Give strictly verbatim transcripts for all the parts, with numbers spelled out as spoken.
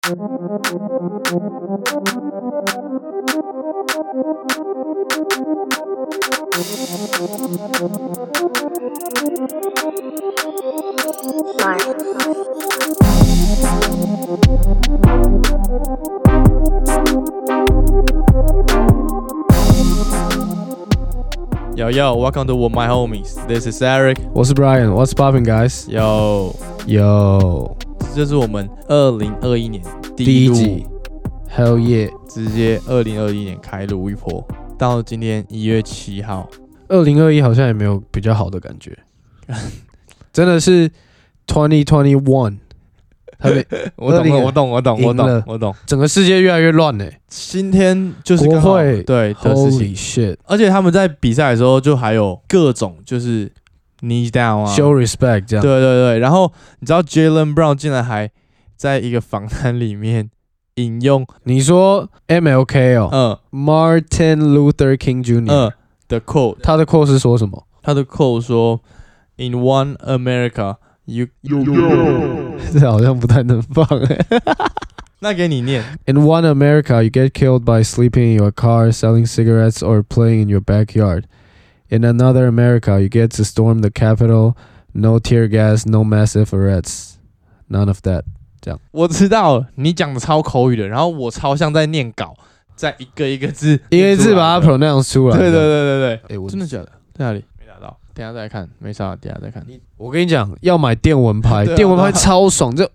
Yo yo, welcome to My Homies. This is Eric. 我是 Brian. What's popping, guys? Yo Yo， 这是我们二零二一年第第一录一集 ，Hell yeah！ 直接二零二一年开录一波，到今天一月七号。 二零二一好像也没有比较好的感觉，真的是二零二一。 我懂了，我懂，我懂，我懂，我懂。 整个世界越来越乱嘞， 今天就是国会对的事情 ，Holy shit！ 而且他们在比赛的时候就还有各种就是 knee down 啊 ，show respect 这样。 对对对，然后你知道 Jaylen Brown 竟然还在一个访谈里面引用你说 M L K 哦， 嗯 ，Martin Luther King Junior 嗯的 quote， 他的 quote 是说什么？ 他的 quote 说 ，In one America, you you 这好像不太能放哎。 那给你念。 In one America, you get killed by sleeping in your car, selling cigarettes, or playing in your backyard. In another America, you get to storm the Capitol. No tear gas, no massive arrests. None of that. 这样， 我知道你讲的超口语的，然后我超像在念稿，在一个一个字， 一个字把它 pronounce 出来。 对对对对对， 欸、我真的假的？在哪里？没拿到，等一下再看，没啥，等一下再看。 我跟你讲，要买电蚊拍， 啊、 电蚊拍超爽，就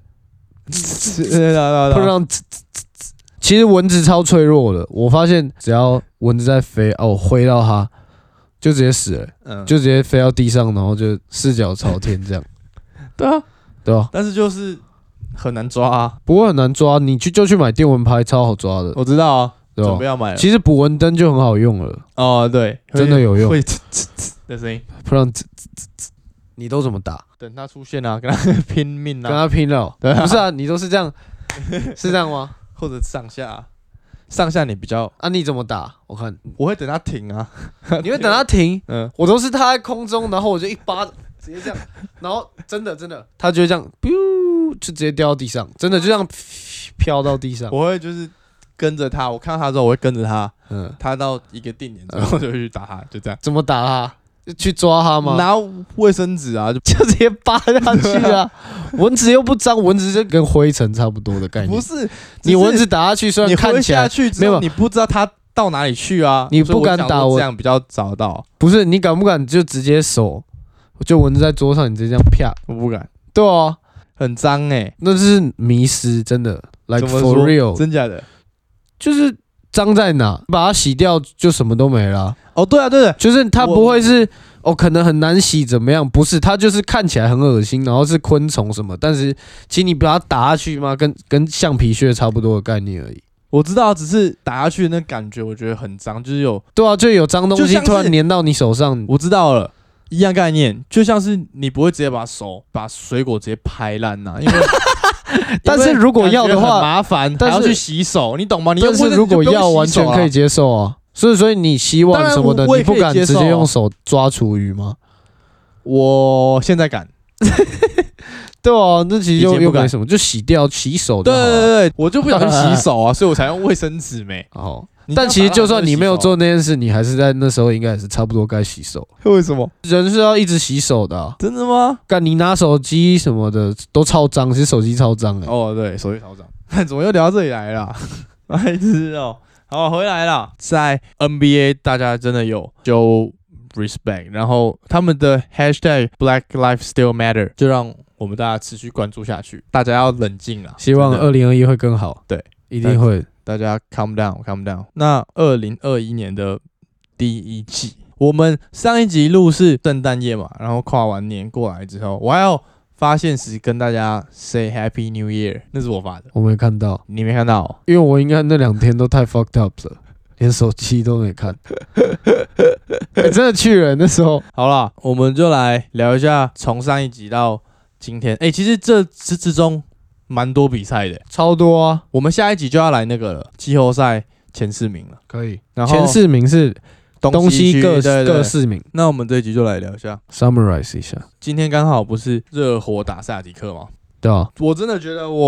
不让。其实蚊子超脆弱的，我发现只要蚊子在飞，哦，我挥到它，就直接死了，嗯、就直接飞到地上，然后就四脚朝天这样。 对啊， 对啊， 但是就是很难抓啊， 不过很难抓，你去就去买电蚊拍，超好抓的。 我知道啊， 对吧？ 准备要买了。 其实捕蚊灯就很好用了。 哦，对， 真的有用， 会呲呲呲的声音， 不然呲呲呲，你都怎么打？ 等他出现啊，跟他拼命啊， 跟他拼了、喔。 对啊， 不是啊，你都是这样，是这样吗？ 或者上下、啊，上下你比较啊？你怎么打？我看我会等他停啊， 你会等他停？ 嗯， 我都是他在空中，然后我就一巴直接这样，然后真的真的，他就会这样，就直接掉到地上，真的就这样飘到地上。 我会就是跟着他，我看到他之后，我会跟着他，嗯，他到一个定点之后就会去打他，就这样。 怎么打他？去抓他吗？ 拿卫生纸啊，就就直接扒下去啊！蚊子又不脏，蚊子就跟灰尘差不多的概念。 不是， 你蚊子打下去，虽然看起来下去没有，你不知道它到哪里去啊， 你不敢打我， 这样比较找到。 不是，你敢不敢就直接手，就蚊子在桌上，你直接这样啪？ 我不敢。 对啊， 很脏哎、欸， 那是迷失，真的 ，like for real， 真假的， 就是脏在哪，把它洗掉就什么都没了、啊。 哦，对啊，对的， 就是它不会是哦，可能很难洗怎么样？不是，它就是看起来很恶心，然后是昆虫什么，但是其实你把它打下去嘛，跟跟橡皮屑差不多的概念而已。 我知道，只是打下去的那感觉，我觉得很脏，就是有对啊，就有脏东西突然粘到你手上。 我知道了，一样概念，就像是你不会直接把手把水果直接拍烂呐，因为。 但是如果要的话， 很麻烦，还要去洗手，你懂吗？你但是如果要，完全可以接受啊。所以，所以你洗碗什么的，你不敢直接用手抓厨余吗？ 我现在敢。 对啊，那其实又又没什么，就洗掉洗手就好了。 对对对，我就不小心洗手啊，所以我才用卫生纸没。 哦，但其实就算你没有做那件事，你还是在那时候应该也是差不多该洗手。 为什么？ 人是要一直洗手的、啊。 真的吗？ 干你拿手机什么的都超脏，其实手机超脏哎、 欸。哦，对，手机超脏。怎么又聊到这里来了？白痴哦。好，回来了。在 N B A， 大家真的有就 respect， 然后他们的 hashtag Black Lives Still Matter 就让我们大家持续关注下去。大家要冷静啦， 希望二零二一会更好。 对， 一定会。 大家 calm down，calm down。那二零二一年的第一季，我们上一集录是圣诞夜嘛，然后跨完年过来之后，我还要发现时跟大家 say Happy New Year， 那是我发的， 我没看到， 你没看到、哦， 因为我应该那两天都太 fucked up 了，连手机都没看，欸、真的去了那时候。 好啦，我们就来聊一下从上一集到今天，哎、欸，其实这之之中蛮多比赛的， 超多啊。 我们下一集就要来那个了，季后赛前四名了， 可以。 然后前四名是东西各对对对各四名。 那我们这一集就来聊一下 ，summarize 一下。 今天刚好不是热火打塞尔提克吗？ 对啊， 我真的觉得我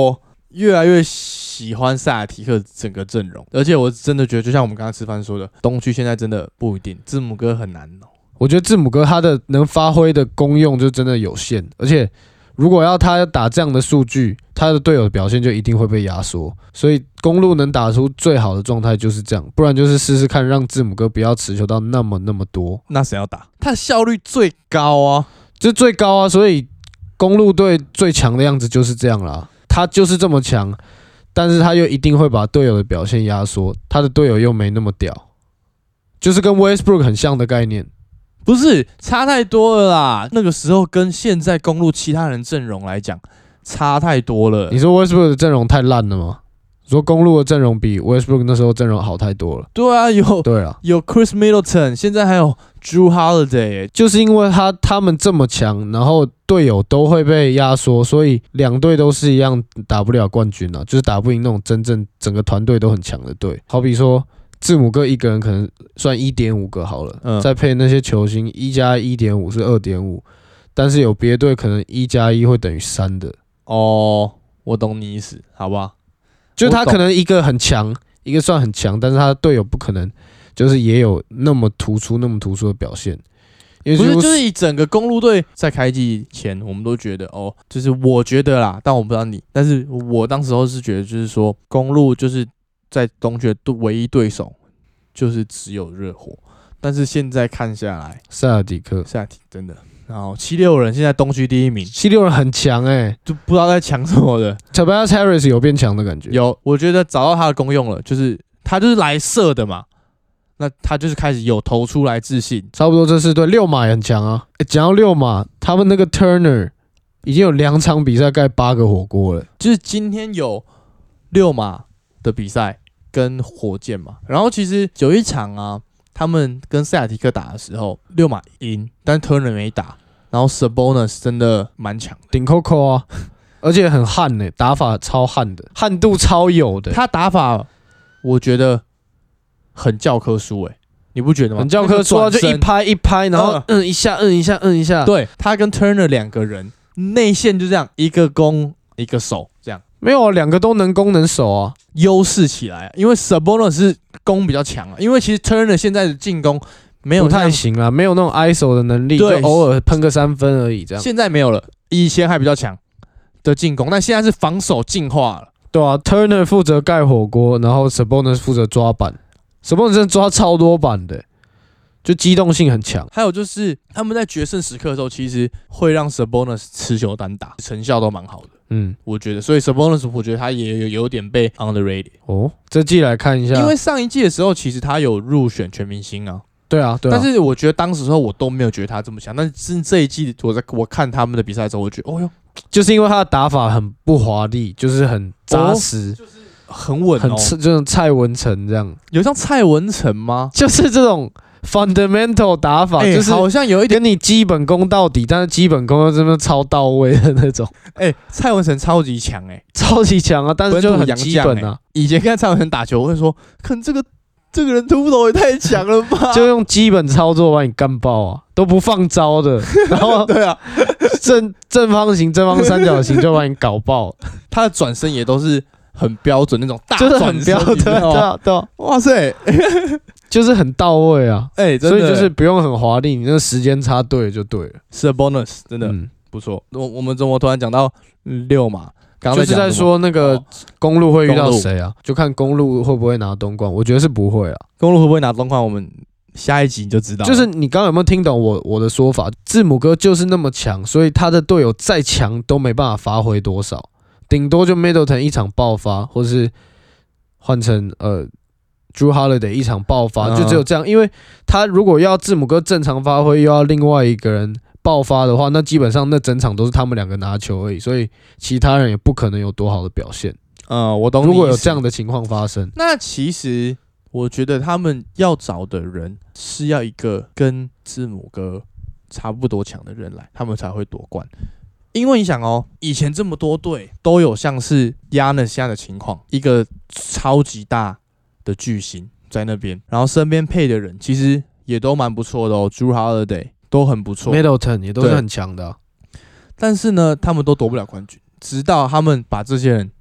越来越喜欢塞尔提克整个阵容，而且我真的觉得，就像我们刚刚吃饭说的，东区现在真的不一定，字母哥很难哦。 我觉得字母哥他的能发挥的功用就真的有限，而且如果要他打这样的数据，他的队友的表现就一定会被压缩。所以公鹿能打出最好的状态就是这样，不然就是试试看让字母哥不要持球到那么那么多。 那谁要打？他的效率最高啊， 这最高啊！所以公鹿队最强的样子就是这样啦，他就是这么强，但是他又一定会把队友的表现压缩，他的队友又没那么屌，就是跟 Westbrook 很像的概念。 不是差太多了啦，那个时候跟现在公鹿其他人阵容来讲差太多了。 你说 Westbrook 的阵容太烂了吗？你说公鹿的阵容比 Westbrook 那时候阵容好太多了。 对啊，有对啊， 有 Chris Middleton， 现在还有 Drew Holiday， 就是因为他他们这么强，然后队友都会被压缩，所以两队都是一样打不了冠军啊，就是打不赢那种真正整个团队都很强的队。好比说字母哥一个人可能算 一点五 个好了，嗯、再配那些球星，一加 一点五 是 二点五， 但是有别队可能一加一会等于三的。 哦，我懂你意思，好不好？ 就他可能一个很强，一个算很强，但是他的队友不可能就是也有那么突出、那么突出的表现。因为不是，就是以整个公鹿队在开季前，我们都觉得哦，就是我觉得啦，但我不知道你，但是我当时候是觉得，就是说公鹿就是在东区的唯一对手就是只有热火，但是现在看下来， 塞尔迪克， 塞尔提真的，然后七六人现在东区第一名， 七六人很强哎、欸， 就不知道在强什么的。 Tobias Harris 有变强的感觉， 有，我觉得找到他的功用了，就是他就是来射的嘛，那他就是开始有投出来自信， 差不多这是对。六马也很强啊，讲、欸、到六马，他们那个 Turner 已经有两场比赛盖八个火锅了， 就是今天有六马的比赛跟火箭嘛，然后其实有一场啊，他们跟塞尔提克打的时候，六马赢，但 Turner 没打，然后 Sabonis 真的蛮强的， 顶扣扣啊，而且很悍呢、欸，打法超悍的，悍度超有的。 他打法我觉得很教科书诶、欸，你不觉得吗？ 很教科书啊，就一拍一拍，然后嗯嗯一下，嗯一下，嗯一下。 对，他跟 Turner 两个人内线就这样，一个攻一个守这样。 没有，两个都能攻能守啊， 优势起来，因为 Sabonis 是攻比较强啊，因为其实 Turner 现在的进攻没有不太行啦，没有那种 I S O 的能力，就偶尔喷个三分而已这样。 现在没有了，以前还比较强的进攻，但现在是防守进化了。 对啊 ，Turner 负责盖火锅，然后 Sabonis 负责抓板 ，Sabonis 真的抓超多板的、欸，就机动性很强。 还有就是他们在决胜时刻的时候，其实会让 Sabonis 持球单打，成效都蛮好的。嗯，我觉得，所以 Sabonis 我觉得他也有有点被 underrated 哦。这季来看一下， 因为上一季的时候，其实他有入选全明星啊。 对啊，对啊。 但是我觉得当时时候我都没有觉得他这么强，但是这一季我在我看他们的比赛的时候，我觉得哦哟， 就是因为他的打法很不华丽，就是很扎实， 哦、就是很稳、哦， 很这种蔡文成这样。 有像蔡文成吗？ 就是这种 fundamental 打法，欸、就是好像有一点跟你基本功到底，但是基本功又真的超到位的那种。 哎、欸，蔡文成超级强哎、欸， 超级强啊！但是就很基本啊。 欸、以前看蔡文成打球，我会说，看这个这个人突投也太强了吧！ 就用基本操作把你干爆啊，都不放招的。然后对啊， 正正方形、正方三角形就把你搞爆。 他的转身也都是很标准那种大转身，就是很标准，对啊，对啊， 哇塞！ 就是很到位啊， 哎、欸， 所以就是不用很华丽，你那个时间差对了就对了。 是 bonus， 真的、嗯、不错。我我们怎么突然讲到六嘛？刚刚就是在说那个公鹿会遇到谁啊？就看公鹿会不会拿东冠，我觉得是不会啊。 公鹿会不会拿东冠？我们下一集你就知道了。 就是你刚刚有没有听懂我我的说法？字母哥就是那么强，所以他的队友再强都没办法发挥多少，顶多就 Middleton 一场爆发，或是换成呃。Drew Holiday 一场爆发，就只有这样，因为他如果要字母哥正常发挥，又要另外一个人爆发的话，那基本上那整场都是他们两个拿球而已，所以其他人也不可能有多好的表现。 嗯，我懂你。 如果有这样的情况发生， 那其实我觉得他们要找的人是要一个跟字母哥差不多强的人来，他们才会夺冠。因为你想哦，以前这么多队都有像是 Giannis 现在的情况，一个超级大的巨星在那边，然后身边配的人其实也都蛮不错的哦 ，Drew Holiday 都很不错 ，Middleton 也都是很强的、啊， 但是呢，他们都夺不了冠军，直到他们把这些人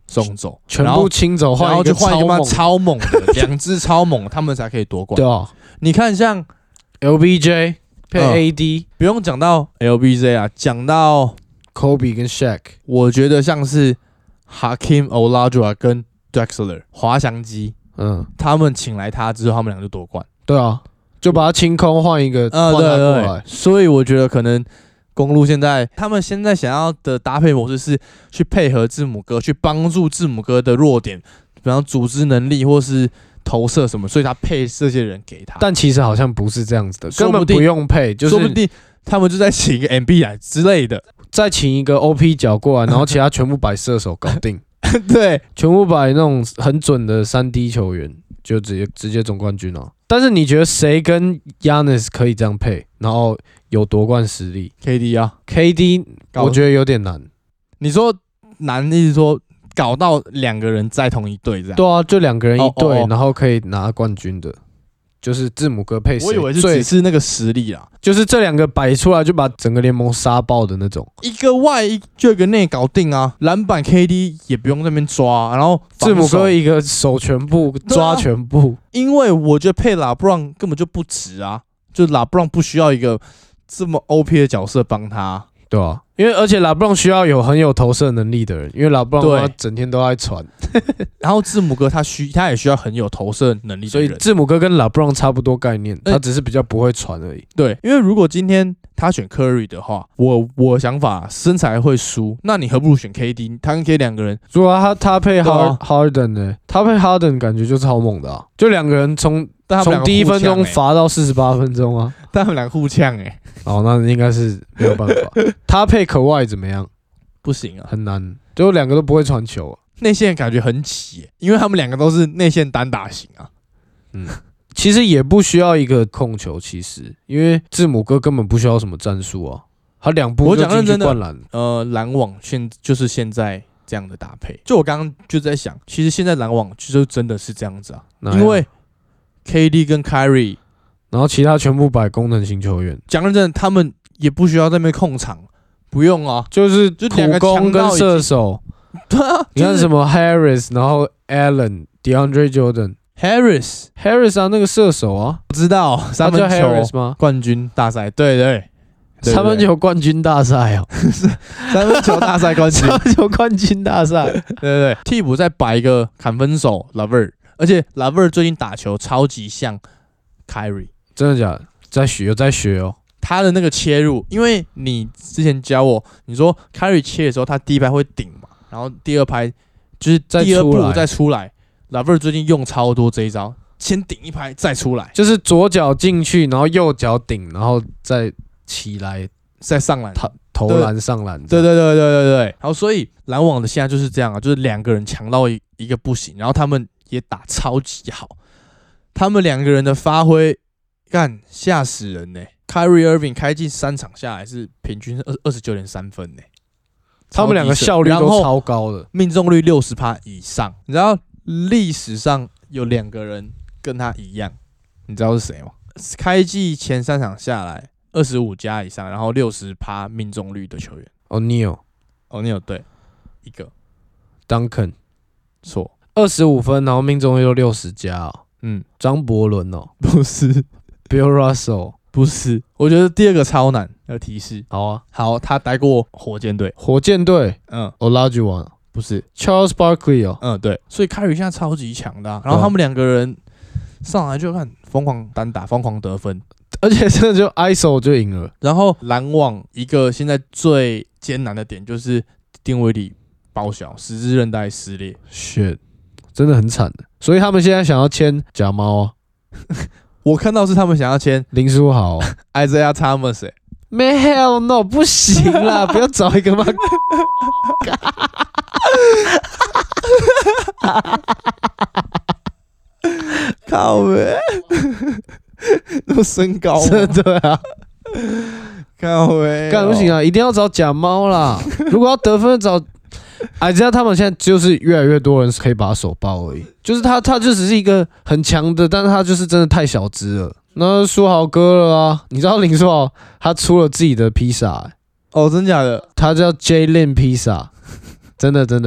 送走， 全部清走， 然后就换一个嘛超猛超猛的，两支超猛，他们才可以夺冠。 对啊， 你看像 L B J 配 A D，、 呃、不用讲到 L B J 啊，讲到 Kobe 跟 Shaq， 我觉得像是 Hakeem Olajuwon 跟 Drexler 滑翔机，嗯，他们请来他之后，他们两个就夺冠。 对啊，就把他清空，换一个，呃，对对对， 所以我觉得可能公鹿现在他们现在想要的搭配模式是去配合字母哥，去帮助字母哥的弱点，比方组织能力或是投射什么，所以他配这些人给他。 但其实好像不是这样子的，根本不用配，就是说不定他们就在请一个 M B 来之类的， 再请一个 O P 角过来，然后其他全部摆射手搞定。 对， 全部摆那种很准的三 D 球员，就直接直接总冠军了。但是你觉得谁跟 Giannis 可以这样配，然后有夺冠实力 ？K D 啊 ，K D 我觉得有点难。 你说难，意思说搞到两个人在同一队这样？ 对啊，就两个人一队， 哦哦哦然后可以拿冠军的。就是字母哥配谁？ 我以为是只是那个实力啦， 就是这两个摆出来就把整个联盟杀爆的那种。 一个外就一个内搞定啊，篮板 K D 也不用在那边抓，然后字母哥一个手全部抓全部。 啊、因为我觉得配拉布朗根本就不值啊，就拉布朗不需要一个这么 O P 的角色帮他。 对啊，因为而且拉布朗需要有很有投射能力的人，因为拉布朗他整天都在传。 然后字母哥他需他也需要很有投射能力的人， 所以字母哥跟拉布朗差不多概念，他只是比较不会传而已。 对，因为如果今天他选 Curry 的话，我我想法身材会输，那你何不如选 K D？ 他跟 K D 两个人， 如果他他配 Hard Harden 呢？他配 Harden 感觉就超猛的啊，就两个人从从第一分钟罚到四十八分钟啊， 但他们俩互呛哎、欸。 哦，那应该是没有办法。他配可外怎么样？ 不行啊， 很难，就两个都不会传球、啊。 内线感觉很挤、欸，因为他们两个都是内线单打型啊。 嗯，其实也不需要一个控球，其实因为字母哥根本不需要什么战术啊，他两步就进去灌篮。 呃，篮网现就是现在这样的搭配。就我刚刚就在想，其实现在篮网就真的是这样子啊，因为 K D 跟 Kyrie。 然后其他全部摆功能型球员， 讲认真，他们也不需要在那边控场，不用啊， 就是就两个攻跟射手。 对啊， 你看什么 Harris， 然后 Allen、DeAndre Jordan、Harris，Harris 啊，那个射手啊， 不知道三分球吗？ 冠军大赛，对 对, 对，三分球冠军大赛哦， 三分球大赛冠军， 三分球冠军大赛， 对对对，替补再摆一个砍分手 Lavert， 而且 Lavert 最近打球超级像 Kyrie。 真的假的？在学有在学哦。 他的那个切入，因为你之前教我，你说 Kyrie 切的时候，他第一拍会顶嘛，然后第二拍就是第二步再出来。Lavert 最近用超多这一招，先顶一拍再出来， 就是左脚进去，然后右脚顶，然后再起来， 再上篮， 投篮上篮。 对对对对对对。然后所以篮网的现在就是这样啊，就是两个人强到一一个不行，然后他们也打超级好，他们两个人的发挥。干吓死人呢、欸、！Kyrie Irving 开季三场下来是平均二二十九点三分呢、欸， 他们两个效率都超高的， 命中率六十趴以上。你知道历史上有两个人跟他一样，你知道是谁吗？开季前三场下来二十五加以上，然后六十趴命中率的球员。O'Neal，O'Neal 对，一个 Duncan 错， 二十五分，然后命中率又六十加哦。 嗯， 张伯伦哦， 不是。 Bill Russell 不是，我觉得第二个超难，要提示。 好啊， 好，他待过火箭队。 火箭队，嗯 ，Olajuwon 不是 Charles Barkley 哦， 嗯，对，所以凯瑞现在超级强的、啊，然后他们两个人上来就看疯狂单打，疯狂得分， 而且真的就 I S O 就赢了。 然后篮网一个现在最艰难的点就是丁威迪报销，十字韧带撕裂 ，shit， 真的很惨的。所以他们现在想要签假猫啊。 我看到是他们想要签林书豪、 Isaiah Thomas， 哎、欸， 没 hell no， 不行啦，不要找一个嘛。 靠呗，那么身高吗？ 对啊， 靠呗， 干不行啊，一定要找假猫啦。如果要得分，找。哎，知道他们现在就是越来越多人可以把他手爆而已，就是他，他就只是一个很强的，但是他就是真的太小只了。那书豪哥了啊，你知道林书豪他出了自己的披萨、欸， 哦，真假的？ 他叫 Jalen 披萨，真的真的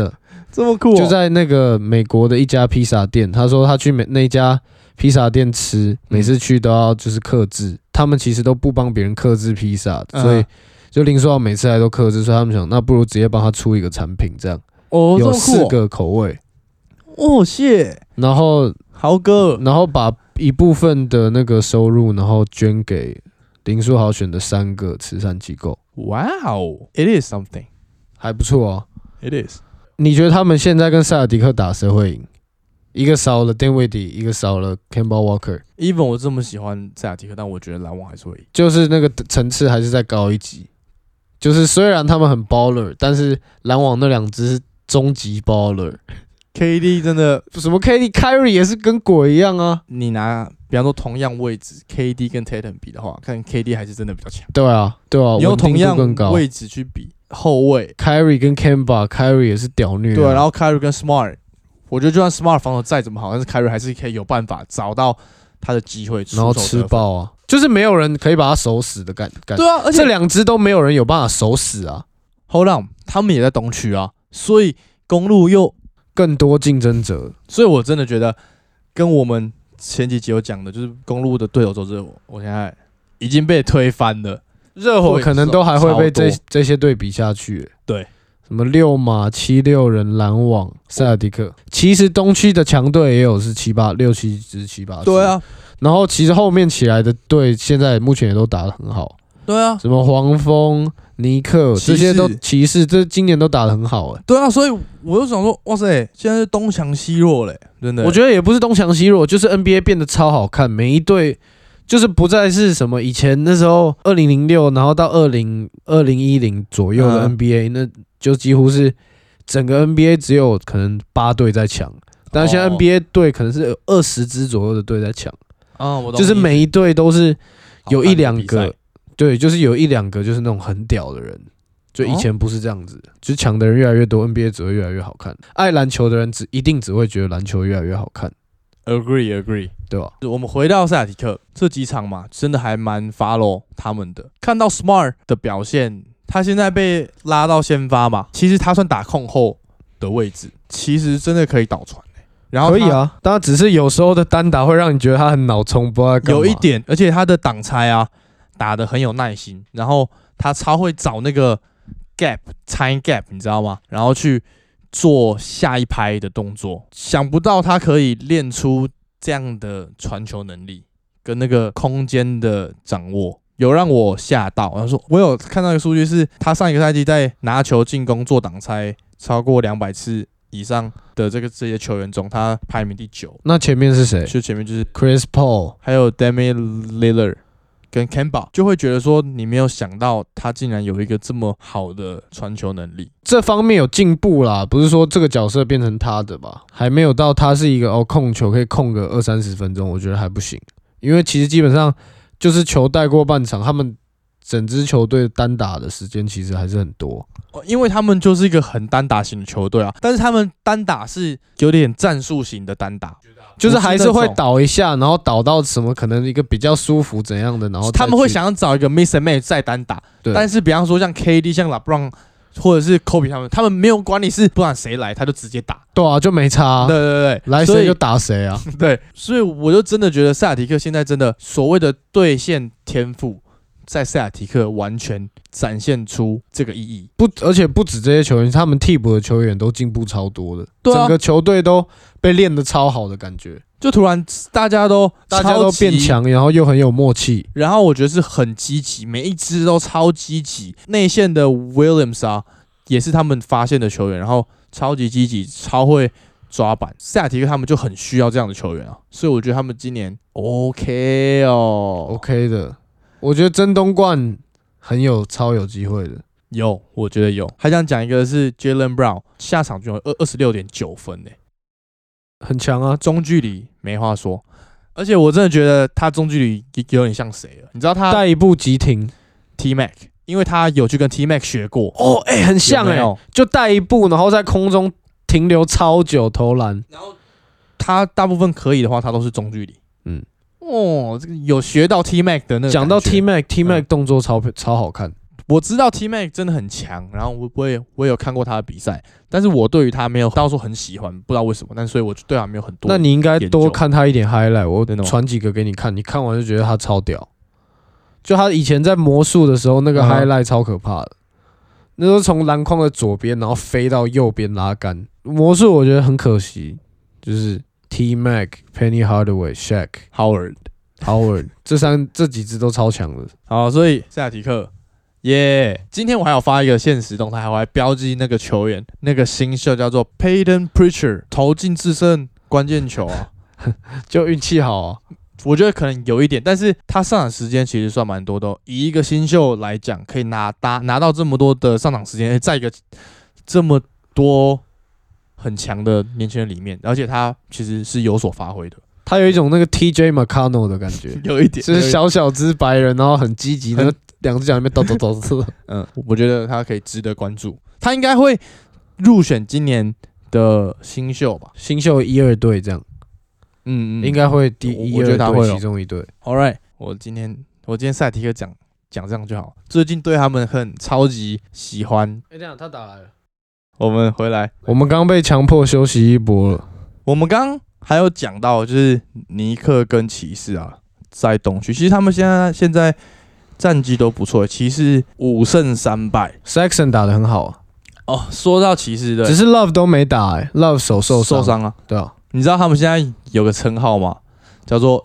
这么酷、哦， 就在那个美国的一家披萨店，他说他去美那家披萨店吃，每次去都要就是客制，他们其实都不帮别人客制披萨，嗯、所以就林书豪每次来都客制，所以他们想那不如直接帮他出一个产品这样。 哦， 有四个口味。 哦，谢。 然后豪哥， 然后把一部分的那个收入，然后捐给林书豪选的三个慈善机构。 哇哦 ，It is something， 还不错啊。 It is。 你觉得他们现在跟塞尔迪克打谁会赢？一个少了 Dinwiddie， 一个少了 Kemba Walker。Even 我这么喜欢塞尔迪克，但我觉得篮网还是会赢。 就是那个层次还是再高一级。就是虽然他们很 baller， 但是篮网那两支是终极 baller。K D 真的什么 K D、Kyrie 也是跟鬼一样啊！ 你拿比方说同样位置 K D 跟 Tatum 比的话，看 K D 还是真的比较强。 对啊，对啊， 你用同样位置去比后卫 ，Kyrie 跟 Kemba，Kyrie 也是屌虐、啊。 对、啊，然后 Kyrie 跟 Smart， 我觉得就算 Smart 防守再怎么好，但是 Kyrie 还是可以有办法找到他的机会， 然后吃爆啊！就是没有人可以把他守死的感感。 对啊，而且这两支都没有人有办法守死啊。 Hold on， 他们也在东区啊，所以公路又更多竞争者， 所以我真的觉得跟我们前几集有讲的，就是公路的对手就是我，我现在已经被推翻了。 热火可能都还会被这这些队比下去、欸。 对， 什么六马、七六人、篮网、塞尔迪克，其实东区的强队也有是七八六七支七八支。 对啊， 然后其实后面起来的队，现在目前也都打得很好。 对啊， 什么黄蜂、尼克这些都骑士，这今年都打得很好哎、欸。 对啊，所以我就想说，哇塞，现在是东强西弱嘞、欸，真的。 我觉得也不是东强西弱，就是 N B A 变得超好看，每一队就是不再是什么以前那时候二零零六，然后到二零二零一零左右的 N B A，、嗯、那就几乎是整个 N B A 只有可能八队在抢，但是现在 N B A 队可能是有二十支左右的队在抢。 啊、嗯，我懂。 就是每一队都是有一两个。对，就是有一两个就是那种很屌的人，就以前不是这样子，哦、就是强的人越来越多 ，N B A 只会越来越好看。爱篮球的人只一定只会觉得篮球越来越好看。 Agree, agree， 对吧？ 我们回到塞尔提克这几场嘛，真的还蛮 follow 他们的。看到 Smart 的表现，他现在被拉到先发嘛，其实他算打控后的位置，其实真的可以倒传。然后可以啊，当然只是有时候的单打会让你觉得他很脑冲，不知道在干嘛。 有一点，而且他的挡拆啊。打得很有耐心，然后他超会找那个 gap time gap， 你知道吗？然后去做下一拍的动作。想不到他可以练出这样的传球能力跟那个空间的掌握，有让我吓到。然后说，我有看到一个数据是，他上一个赛季在拿球进攻做挡拆超过两百次以上的这个这些球员中，他排名第九。 那前面是谁？ 就前面就是 Chris Paul， 还有 Damian Lillard。跟 Kemba 就会觉得说，你没有想到他竟然有一个这么好的传球能力， 这方面有进步啦，不是说这个角色变成他的吧，还没有到他是一个哦控球可以控个二三十分钟，我觉得还不行，因为其实基本上就是球带过半场，他们整支球队单打的时间其实还是很多， 因为他们就是一个很单打型的球队啊，但是他们单打是有点战术型的单打。 就是还是会倒一下，然后倒到什么可能一个比较舒服怎样的，然后他们会想要找一个 miss and match 再单打，但是比方说像 K D、像 LeBron 或者是 Kobe 他们，他们没有管你是不管谁来，他就直接打， 对啊，就没差、啊， 对对对， 来谁就打谁啊， 对，所以我就真的觉得塞尔提克现在真的所谓的兑现天赋，在塞尔提克完全展现出这个意义。 不，而且不止这些球员，他们替补的球员都进步超多的， 对啊、 整个球队都被练得超好的感觉。 就突然大家都大家都变强，然后又很有默契， 然后我觉得是很积极，每一支都超积极。内线的 Williams 啊，也是他们发现的球员，然后超级积极，超会抓板。塞尔提克他们就很需要这样的球员啊，所以我觉得他们今年 OK 哦 ，OK 的。我觉得争东冠很有超有机会的， 有，我觉得有。还想讲一个是 Jaylen Brown 下场就有二十六点九分呢、欸。 很强啊， 中距离没话说，而且我真的觉得他中距离有点像谁了？你知道他带一步急停 T Mac， 因为他有去跟 T Mac 学过哦，哎、欸，很像哎、欸，就带一步，然后在空中停留超久投篮， 然后他大部分可以的话，他都是中距离。嗯，哦，这个有学到 T Mac 的那个。 讲到 T Mac，T Mac 动作超、嗯、超好看。 我知道 T Mac 真的很强，然后我我也我也有看过他的比赛，但是我对于他没有到时候很喜欢，不知道为什么，但所以我就对他没有很多。 那你应该多看他一点 highlight， 我传几个给你看，你看完就觉得他超屌。就他以前在魔术的时候，那个 highlight 超可怕的，那时候从篮筐的左边，然后飞到右边拉杆。魔术我觉得很可惜，就是 T Mac、Penny Hardaway、Shaq、Howard、Howard 这三这几支都超强的。 好，所以塞尔提克。耶、yeah ！今天我还有发一个限时动态，我还标记那个球员，那个新秀叫做 Peyton Pritchard， 投进制胜关键球啊， 就运气好啊。 我觉得可能有一点，但是他上场时间其实算蛮多的、哦。以一个新秀来讲，可以拿拿拿到这么多的上场时间，在一个这么多很强的年轻人里面，而且他其实是有所发挥的。 他有一种那个 T J McConnell 的感觉， 有一点， 就是小小只白人，然后很积极，然后两只脚里面抖抖抖抖。 嗯，我觉得他可以值得关注，他应该会入选今年的新秀吧， 新秀一二队这样。嗯嗯，应该会第一二队其中一队。 All right， 我今天我今天赛提克讲讲这样就好。最近对他们很超级喜欢。 哎、欸，这样他打来了， 我们回来， 我们刚被强迫休息一波了。 我们刚还有讲到，就是尼克跟骑士啊，在东区，其实他们现在现在战绩都不错，骑士五胜三败 ，Sexton 打得很好啊。 哦，说到骑士的， 只是 Love 都没打哎、欸、，Love 手受受伤啊， 对啊。 你知道他们现在有个称号吗？叫做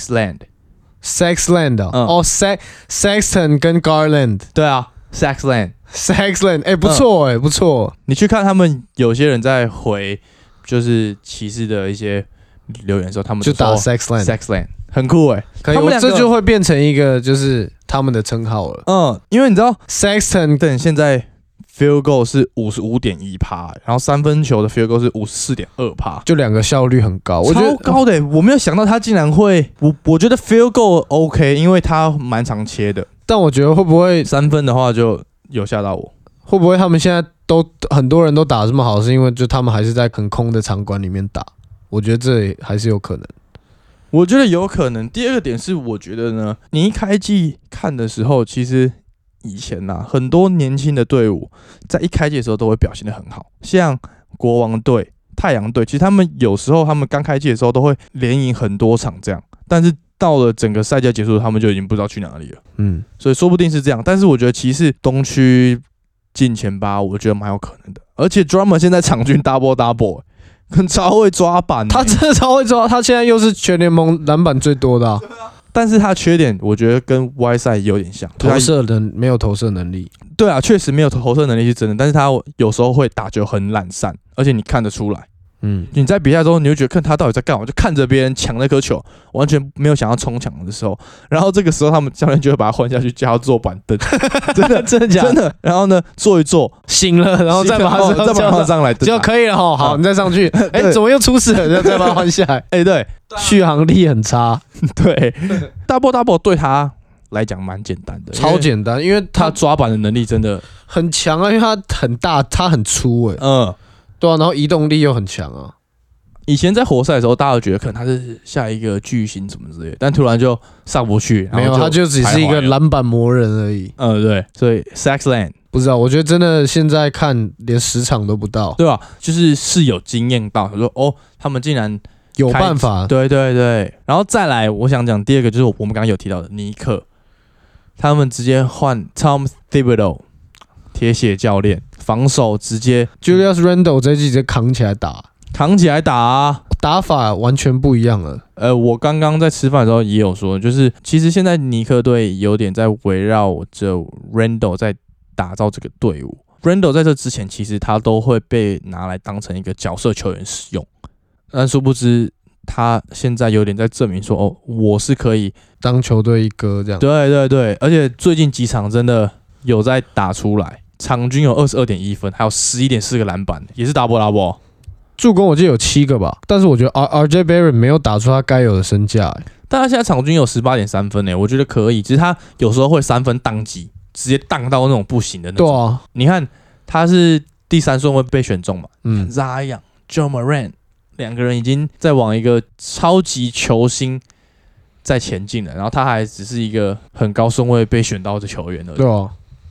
Sexland。Sexland 哦，嗯、哦 ，Sex Sexton 跟 Garland。 对啊 ，Sexland。Sexland， 哎、欸，不错哎、欸，不错。 你去看他们有些人在回，就是骑士的一些留言的时候，他们就打 Sexland，Sexland 很酷哎、欸。 可以，我这就会变成一个就是他们的称号了。 嗯，因为你知道 Sexton 等现在。field goal 是 五十五点一趴，然后三分球的 field goal 是 五十四点二趴， 就两个效率很高，我觉得超高的、欸。我没有想到他竟然会，我我觉得 field goal OK， 因为他蛮常切的。 但我觉得会不会三分的话就有吓到我？ 会不会他们现在都很多人都打这么好，是因为就他们还是在很空的场馆里面打？我觉得这还是有可能。 我觉得有可能。第二个点是，我觉得呢，你一开季看的时候，其实。以前呐、啊，很多年轻的队伍在一开季的时候都会表现得很好，像国王队、太阳队，其实他们有时候他们刚开季的时候都会连赢很多场这样，但是到了整个赛季结束，他们就已经不知道去哪里了。嗯，所以说不定是这样，但是我觉得骑士东区进前八，我觉得蛮有可能的。而且 Drummond 现在场均 double double， 很超会抓板、欸， 他真的超会抓，他现在又是全联盟篮板最多的、啊。 但是他缺点，我觉得跟 Y 赛有点像， 投射能没有投射能力。 对啊，确实没有投射能力是真的，但是他有时候会打球很懒散，而且你看得出来。嗯，你在比赛中，你会觉得看他到底在干嘛，就看着别人抢那颗球，完全没有想要冲抢的时候，然后这个时候他们教练就会把他换下去，叫他坐板凳，真的真的假的？ 真的。然后呢，坐一坐醒了，然后再把他再把他上来， 就可以了哈。好，你再上去。哎、欸，怎么又出事了？再把他换下来。 哎、欸，对， 续航力很差。 对 ，double double 对他来讲蛮简单的， 超简单，因为他, 他抓板的能力真的很强啊，因为他很大，他很粗哎、欸， 嗯， 对啊，然后移动力又很强啊。 以前在活塞的时候，大家都觉得可能他是下一个巨星什么之类的，但突然就上不去， 没有，他就只是一个篮板魔人而已。 嗯，对，所以 Sexland 不知道，我觉得真的现在看连十场都不到， 对吧？就是是有经验到，他说哦，他们竟然有办法， 对对对。然后再来，我想讲第二个就是我们刚刚有提到的尼克，他们直接换 Tom Thibodeau 铁血教练，防守直接 Julius Randle 这一季直接扛起来打。 扛起来打啊， 打法完全不一样了。 呃，我刚刚在吃饭的时候也有说，就是其实现在尼克队有点在围绕着 Randle 在打造这个队伍。Randle 在这之前，其实他都会被拿来当成一个角色球员使用，但殊不知他现在有点在证明说，哦，我是可以当球队一哥这样。 对对对，而且最近几场真的有在打出来，场均有 二十二点一 分，还有 十一点四 个篮板，也是 double double。 助攻我记得有七个吧，但是我觉得 R J Barrett 没有打出他该有的身价、欸， 但他现在场均有 十八点三 分诶、欸，我觉得可以，只是他有时候会三分宕机，直接宕到那种不行的那种。 对啊， 你看他是第三顺位被选中嘛， 嗯 ，Zion、Joe Moran 两个人已经在往一个超级球星在前进了，然后他还只是一个很高顺位被选到的球员而已。 对啊，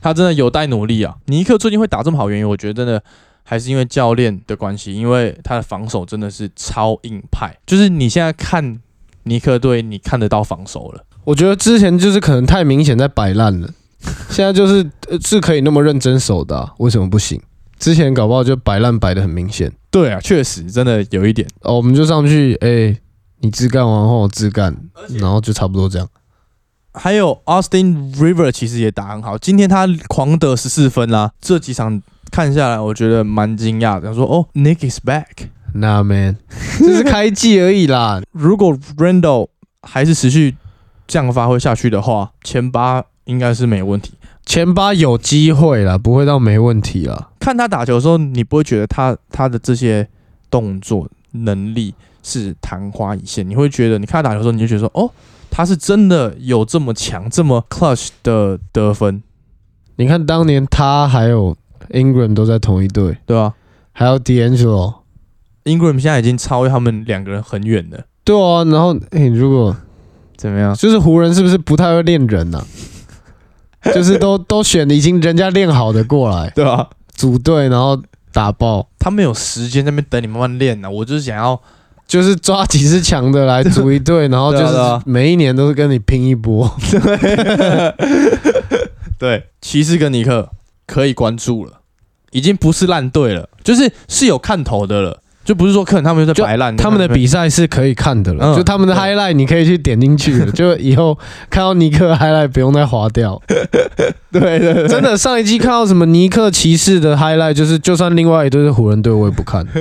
他真的有待努力啊。尼克最近会打这么好，原因我觉得真的还是因为教练的关系，因为他的防守真的是超硬派，就是你现在看尼克队，你看得到防守了。 我觉得之前就是可能太明显在摆烂了，现在就是是可以那么认真守的、啊，为什么不行？之前搞不好就摆烂摆得很明显。 对啊，确实真的有一点。 哦，我们就上去，哎、欸，你自干完后我自干，然后就差不多这样。 还有 Austin Rivers 其实也打很好，今天他狂得十四分啦，这几场看下来，我觉得蛮惊讶的。他说：“哦 ，Nick is back。”Nah man， 这是开季而已啦。 如果 Randle 还是持续这样发挥下去的话，前八应该是没问题。 前八有机会啦，不会到没问题啦。 看他打球的时候，你不会觉得他他的这些动作能力是昙花一现，你会觉得你看他打球的时候，你就觉得说：“哦。”他是真的有这么强、这么 clutch 的得分。 你看当年他还有 Ingram 都在同一队， 对吧、啊？ 还有 D'Angelo。Ingram 现在已经超越他们两个人很远了。 对啊，然后哎、欸，如果怎么样？ 就是湖人是不是不太会练人啊？就是都都选已经人家练好的过来， 对啊， 组队然后打爆。 他们有时间在那边等你慢慢练呢、啊。我就是想要。 就是抓几支强的来组一队，然后就是每一年都是跟你拼一波。 对，对，骑士跟尼克可以关注了，已经不是烂队了，就是是有看头的了，就不是说可能他们就在摆烂。 他们的比赛是可以看的了，嗯、就他们的 highlight 你可以去点进去了，就以后看到尼克 highlight 不用再滑掉。 对, 对对， 真的上一季看到什么尼克骑士的 highlight， 就是就算另外一队是湖人队，我也不看。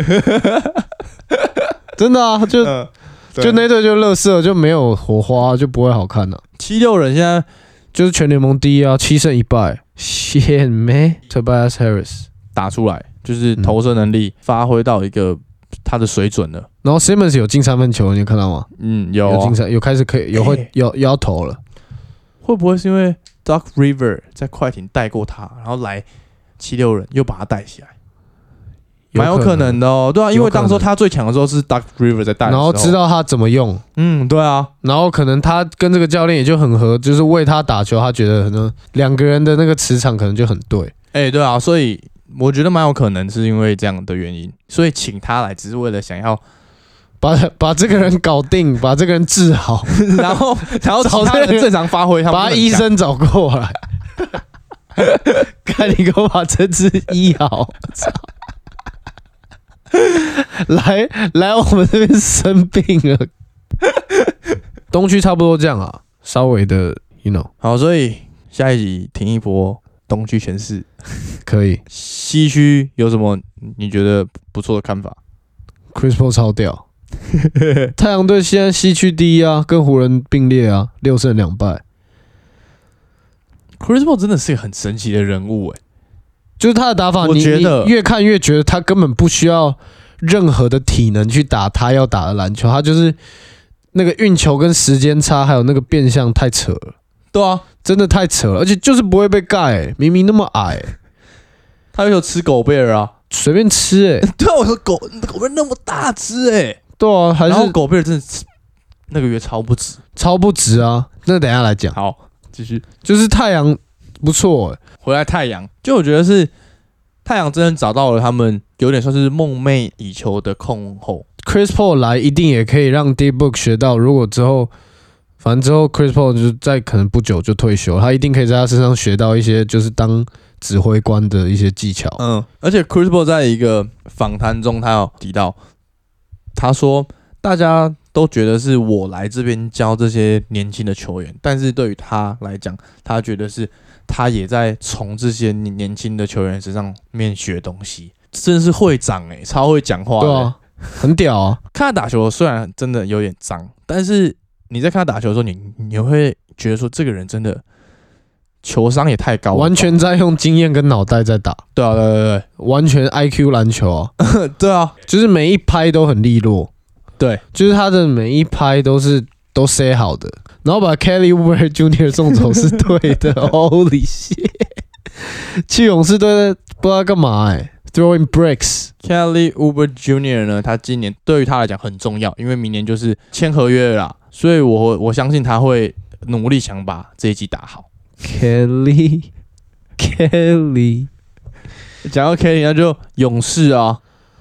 真的啊，就、嗯、就那队就垃圾，就没有火花，就不会好看了、啊。 七六人现在就是全联盟第一啊，七胜一败。Shit man， Tobias Harris 打出来，就是投射能力发挥到一个他的水准了。 然后 Simmons 有进三分球，你有看到吗？ 嗯，有、啊、 有进三，有开始可以有会、欸、有要投了。 会不会是因为 Doc Rivers 在快艇带过他，然后来七六人又把他带起来？蛮有可能的哦，对啊，因为当时他最强的时候是 Doc Rivers 在带的时候， 然后知道他怎么用， 嗯，对啊， 然后可能他跟这个教练也就很合，就是为他打球，他觉得可能两个人的那个磁场可能就很对， 哎、欸，对啊，所以我觉得蛮有可能是因为这样的原因，所以请他来只是为了想要把把这个人搞定，把这个人治好， 然后然后其他人正常发挥， 把医生找过来，看你给我把这只医好。来来，我们这边生病了。东区差不多这样啊，稍微的 ，you know。 好，所以下一集停一波东区全市， 可以。 西区有什么你觉得不错的看法 ？Chris Paul 超屌，太阳队现在西区第一啊，跟湖人并列啊，六胜两败。 Chris Paul 真的是一个很神奇的人物哎、欸。 就是他的打法， 我觉得你越看越觉得他根本不需要任何的体能去打他要打的篮球，他就是那个运球跟时间差，还有那个变相太扯了。 对啊， 真的太扯了，而且就是不会被盖、欸，明明那么矮、欸， 他有吃狗贝尔啊， 随便吃哎、欸。 对啊，我说狗狗贝尔那么大只哎、欸， 对啊，还是然后狗贝尔真的那个月超不值， 超不值啊。那等一下来讲， 好，继续， 就是太阳不错哎、欸。 回来太阳，就我觉得是太阳真的找到了他们有点算是梦寐以求的控后。 Chris Paul 来一定也可以让 D-Book 学到，如果之后，反正之后 Chris Paul 就在可能不久就退休，他一定可以在他身上学到一些就是当指挥官的一些技巧。 嗯，而且 Chris Paul 在一个访谈中，他有提到，他说大家都觉得是我来这边教这些年轻的球员，但是对于他来讲，他觉得是。他也在从这些年轻的球员身上面学东西，真的是会长哎、欸，超会讲话的、欸， 对啊，很屌啊！ 看他打球虽然真的有点脏，但是你在看他打球的时候，你你会觉得说这个人真的球商也太高了， 完全在用经验跟脑袋在打。 对啊，对对对， 完全 I Q 篮球啊！ 对啊， 就是每一拍都很利落， 对， 就是他的每一拍都是都 say 好的。然后把 Kelly Oubre Junior 送走是对的，Holy shit！ 去勇士队不知道干嘛哎、欸、，throwing bricks。Kelly Oubre Junior 呢，他今年对于他来讲很重要，因为明年就是签合约了啦，所以我我相信他会努力想把这一季打好。 Kelly Kelly。 讲到 Kelly， 那就勇士啊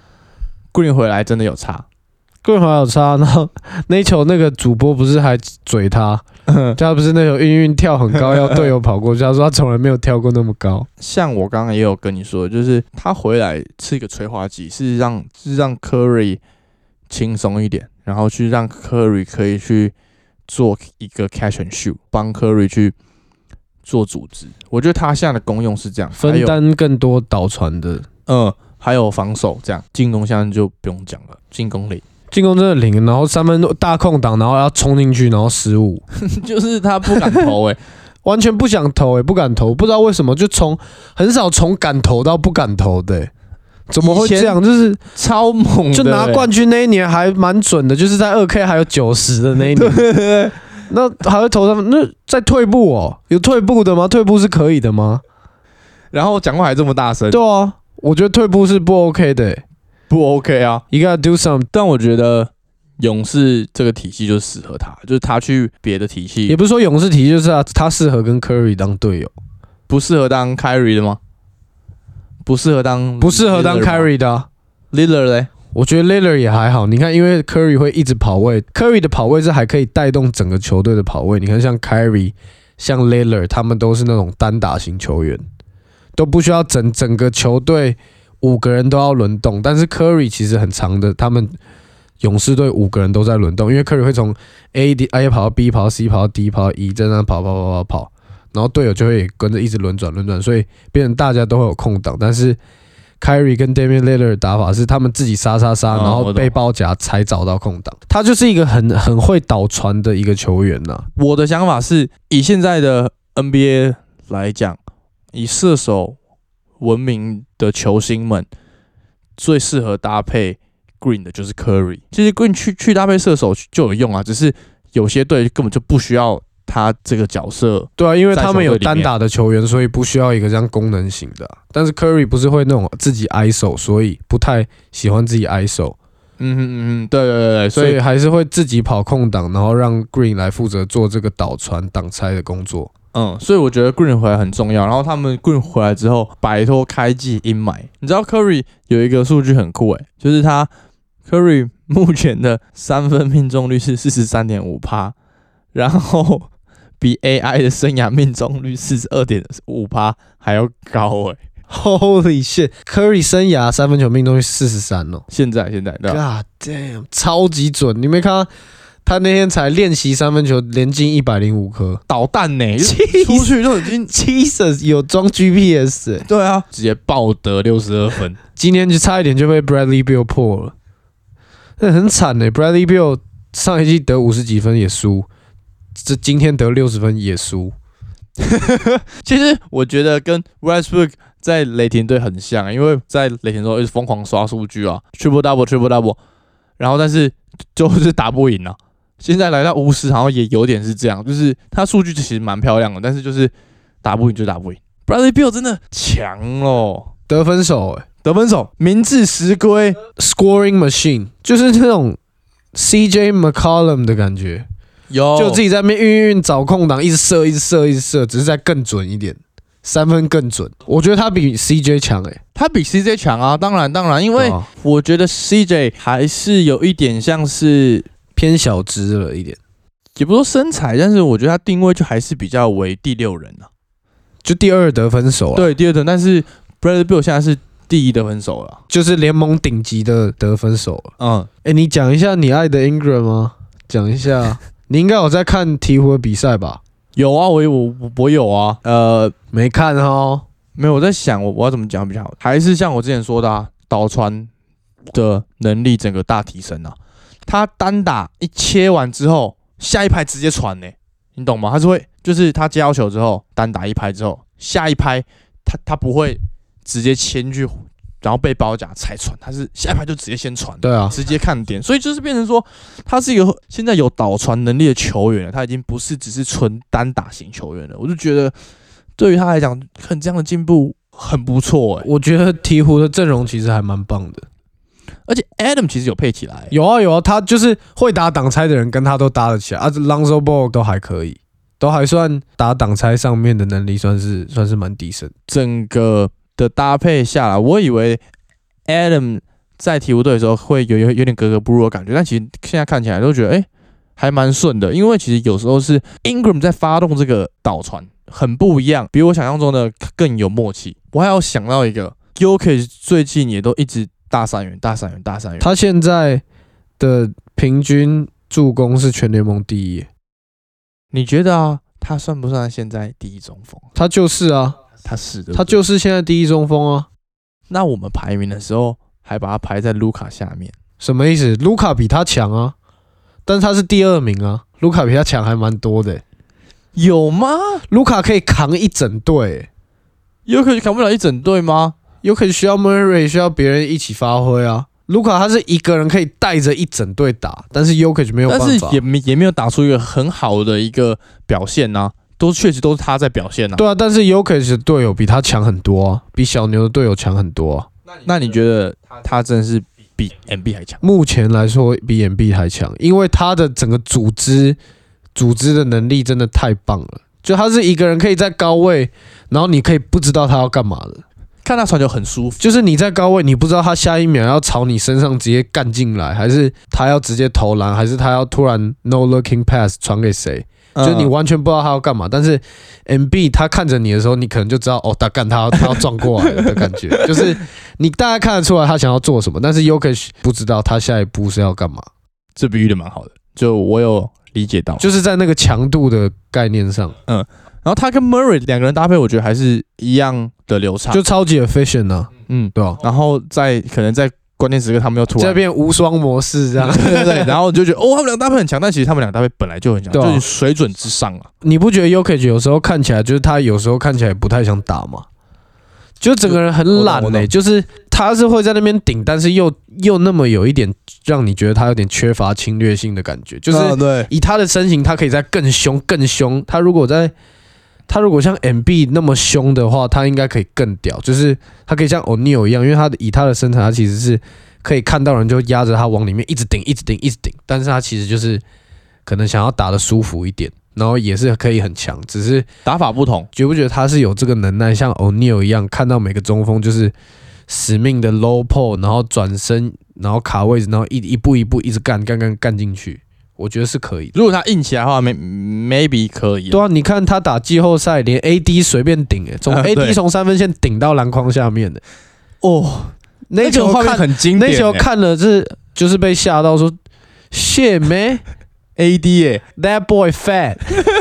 ，Green 回来真的有差。 Green 回来有差，然后那一球那个主播不是还嘴他，他不是那球运运跳很高，要队友跑过去，他说他从来没有跳过那么高。 像我刚刚也有跟你说，就是他回来是一个催化剂，是让是让 Curry 轻松一点，然后去让 Curry 可以去做一个 catch and shoot， 帮 Curry 去做组织。我觉得他现在的功用是这样， 分担更多导传的， 嗯，还有防守这样，进攻现在就不用讲了，进攻零。 进攻真的零，然后三分大空档，然后要冲进去，然后失误， 就是他不敢投哎、欸， 完全不想投哎、欸，不敢投，不知道为什么就从很少从敢投到不敢投的、欸，怎么会这样？就是超猛的、欸， 就拿冠军那一年还蛮准的，就是在二 K 还有九十的那一年， 对对对， 那还会投三分，那在退步哦，有退步的吗？退步是可以的吗？ 然后讲话还这么大声， 对啊，我觉得退步是不 OK 的、欸。 不 OK 啊 ，You gotta do some。 但我觉得勇士这个体系就适合他，就是他去别的体系， 也不是说勇士体系，就是他他适合跟 Curry 当队友， 不适合当 Kyrie 的吗？不适合当不适合当 Kyrie 的、啊。 Lillard 嘞？ 我觉得 Lillard 也还好。你看，因为 Curry 会一直跑位 ，Curry 的跑位是还可以带动整个球队的跑位。你看，像 Kyrie、像 Lillard， 他们都是那种单打型球员，都不需要整整个球队。五个人都要轮动，但是 Curry 其实很长的，他们勇士队五个人都在轮动，因为 Curry 会从 A D A 跑到 B 跑到 C 跑到 D 跑到 E， 在那跑跑跑跑跑，然后队友就会跟着一直轮转轮转，所以变成大家都会有空档。但是 Kyrie 跟 Damian Lillard 的打法是他们自己杀杀杀，然后被包夹才找到空档。他就是一个很很会导传的一个球员呐、啊。 我的想法是以现在的 N B A 来讲，以射手闻名的球星们最适合搭配 Green 的就是 Curry。其实 Green 去去搭配射手就有用啊，只是有些队根本就不需要他这个角色。 对啊，因为他们有单打的球员，所以不需要一个这样功能型的、啊。但是 Curry 不是会那种自己 I S O， 所以不太喜欢自己 I S O。 嗯哼嗯哼，对对对对， 所以还是会自己跑空档，然后让 Green 来负责做这个导传、挡拆的工作。 嗯，所以我觉得 Green 回来很重要。然后他们 Green 回来之后，摆脱开季阴霾。你知道 Curry 有一个数据很酷诶，就是他 Curry 目前的三分命中率是 百分之四十三点五， 然后比 A I 的生涯命中率 百分之四十二点五 还要高诶。 Holy shit！ Curry 生涯三分球命中率四十三哦， 现在现在对吧 ？God damn， 超级准！你没看到？他那天才练习三分球，连进一百零五颗导弹呢、欸，出去都已经 Jesus 有装 G P S 欸， 对啊，直接爆得六十二分。 今天就差一点就被 Bradley Beal 破了，那很惨呢、欸。Bradley Beal 上一季得五十几分也输，这今天得六十分也输。 其实我觉得跟 Westbrook 在雷霆队很像，因为在雷霆的时候一直疯狂刷数据啊 ，triple double triple double， 然后但是就是打不赢啊。现在来到巫师，好像也有点是这样，就是他数据其实蛮漂亮的，但是就是打不赢就打不赢。Bradley Beal 真的强哦， 得分手哎、欸， 得分手，名至实归 ，scoring machine， 就是那种 C J McCollum 的感觉， 有就自己在那边运运找空档，一直射，一直射，一直射，只是再更准一点，三分更准。我觉得他比 C J 强哎、欸， 他比 C J 强啊，当然当然，因为我觉得 C J 还是有一点像是。 偏小只了一点， 也不说身材，但是我觉得他定位就还是比较为第六人啊， 就第二得分手啊。 对，第二得，但是 Bradley Beal 现在是第一得分手了， 就是联盟顶级的得分手了。 嗯， 哎、欸，你讲一下你爱的 Ingram 吗？讲一下，你应该有在看鹈鹕的比赛吧？ 有啊，我我我有啊，呃， 没看哦， 没有，我在想我我要怎么讲比较好，还是像我之前说的啊，导传的能力整个大提升啊。他单打一切完之后，下一拍直接传呢、欸，你懂吗？他是会，就是他接到球之后，单打一拍之后，下一拍他他不会直接牵去，然后被包夹才传，他是下一拍就直接先传， 对啊， 直接看点，所以就是变成说，他是一个现在有导传能力的球员了，他已经不是只是纯单打型球员了。我就觉得对于他来讲，很这样的进步很不错哎、欸。 我觉得鹈鹕的阵容其实还蛮棒的。 而且 Adam 其实有配起来， 有啊有啊，他就是会打挡拆的人跟他都搭得起来，啊 ，Lonzo Ball 都还可以。 都还算打挡拆上面的能力算是算是蛮低深。 整个的搭配下来，我以为 Adam 在鹈鹕队的时候会有有有点格格不入的感觉，但其实现在看起来都觉得，哎、欸，还蛮顺的。因为其实有时候是 Ingram 在发动这个导传，很不一样，比我想象中的更有默契。我还有想到一个 Jokic 最近也都一直大三元、大三元、大三元。 他现在的平均助攻是全联盟第一。 你觉得啊，他算不算现在第一中锋？ 他就是啊， 他是的， 他就是现在第一中锋啊。 那我们排名的时候还把他排在卢卡下面， 什么意思？卢卡比他强啊，但是他是第二名啊。卢卡比他强还蛮多的、欸， 有吗？ 卢卡可以扛一整队、欸， 有可能扛不了一整队吗？ 有可能需要 Murray， 需要别人一起发挥啊。卢卡他是一个人可以带着一整队打，但是 Jokic 没有办法， 但是也没也没有打出一个很好的一个表现啊，都确实都是他在表现啊。 对啊，但是 Jokic 的队友比他强很多啊，比小牛的队友强很多啊。 那你觉得他真的是比 M B 还强？ 目前来说比 M B 还强，因为他的整个组织组织的能力真的太棒了。就他是一个人可以在高位，然后你可以不知道他要干嘛的。 看他传球很舒服， 就是你在高位，你不知道他下一秒要朝你身上直接干进来，还是他要直接投篮，还是他要突然 no looking pass 传给谁，嗯、就是你完全不知道他要干嘛。但是 M B 他看着你的时候，你可能就知道哦，他干他要他要撞过来了的感觉，就是你大概看得出来他想要做什么，但是 Jokic 不知道他下一步是要干嘛。 这比喻的蛮好的，就我有理解到， 就是在那个强度的概念上， 嗯。然后他跟 Murray 两个人搭配，我觉得还是一样的流畅， 就超级 efficient 啊， 嗯， 对吧、啊？ 然后在可能在关键时刻，他们又突然这变无双模式这样， 对对对，然后就觉得哦，他们两个搭配很强，但其实他们两个搭配本来就很强，啊、就是水准之上啊。 你不觉得 Jokic 有时候看起来就是他有时候看起来不太想打吗？就整个人很懒呢、欸，就是他是会在那边顶，但是又又那么有一点让你觉得他有点缺乏侵略性的感觉，就是以他的身形，他可以再更凶更凶。他如果在他如果像 M B 那么凶的话，他应该可以更屌，就是他可以像 O'Neal 一样，因为他的以他的身材，他其实是可以看到人就压着他往里面一直顶一直顶一直顶，但是他其实就是可能想要打得舒服一点，然后也是可以很强，只是打法不同。 觉不觉得他是有这个能耐，像 O'Neal 一样，看到每个中锋就是死命的 low pull， 然后转身，然后卡位置，然后一一步一步一直干干干干进去。我觉得是可以的。 如果他硬起来的话 ，maybe 可以。 对啊，你看他打季后赛，连 A D 随便顶诶，从 A D 从三分线顶到篮筐下面的。 哦， 那球画面很经典， 那球看了是就是被吓到说 ，shit man A D 耶 ，that boy fat 。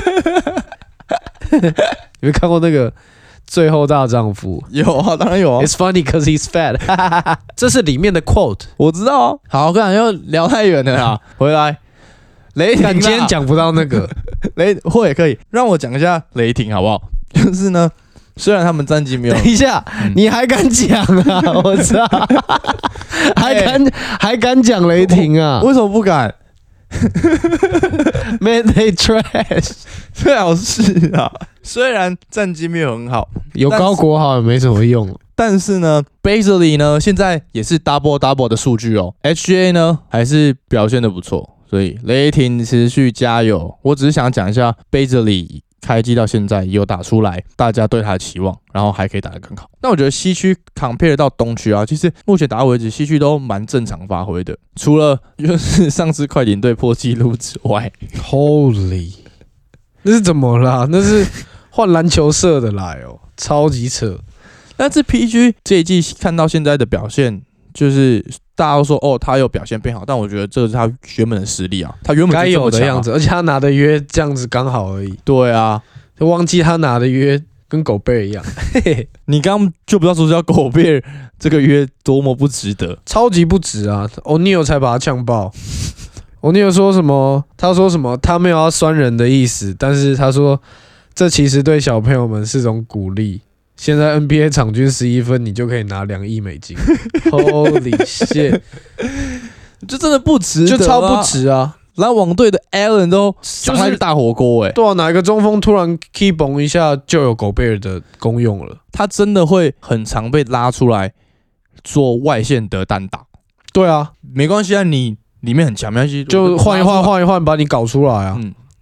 有没有看过那个《最后大丈夫》？ 有啊，当然有啊。 It's funny because he's fat 。这是里面的 quote， 我知道啊。好，我刚才又聊太远了啦，回来。雷霆， 今天讲不到那个雷，或也可以让我讲一下雷霆好不好？就是呢，虽然他们战绩没有， 等一下，嗯、你还敢讲啊？我操，还敢、欸、还敢讲雷霆啊？ 为什么不敢 ？Man they trash， 最好是啊，虽然战绩没有很好， 有高国豪也没什么用。 但是呢 ，Bazley 呢现在也是 double double 的数据哦 ，H G A 呢还是表现的不错。所以雷霆持续加油。我只是想讲一下 Bazley 开季到现在有打出来，大家对他的期望，然后还可以打得更好。那我觉得西区 compare 到东区啊，其实目前打到为止，西区都蛮正常发挥的，除了就是上次快艇队破纪录之外。 Holy， 那是怎么啦？那是换篮球社的来哦，超级扯。 但是 P G 这一季看到现在的表现，就是大家都说哦，他有表现变好，但我觉得这是他原本的实力啊，他原本该有的样子，而且他拿的约这样子刚好而已。 对啊， 就忘记他拿的约跟狗贝尔一样。 你刚刚就不知道说叫狗贝尔这个约多么不值得， 超级不值啊 ！O'Neal 才把他呛爆。O'Neal 说什么？他说什么？他没有要酸人的意思，但是他说这其实对小朋友们是种鼓励。现在 N B A 场均十一分，你就可以拿两亿美金。Holy shit！ 这真的不值得、啊， 就超不值啊！ 篮网队的 Allen 都上来大火锅哎、欸， 对啊，哪一个中锋突然 key 崩一下就有狗贝尔的功用了？ 他真的会很常被拉出来做外线的单打。 对啊， 没关系啊，你里面很强，没关系， 就换一换，换一换，把你搞出来啊！嗯，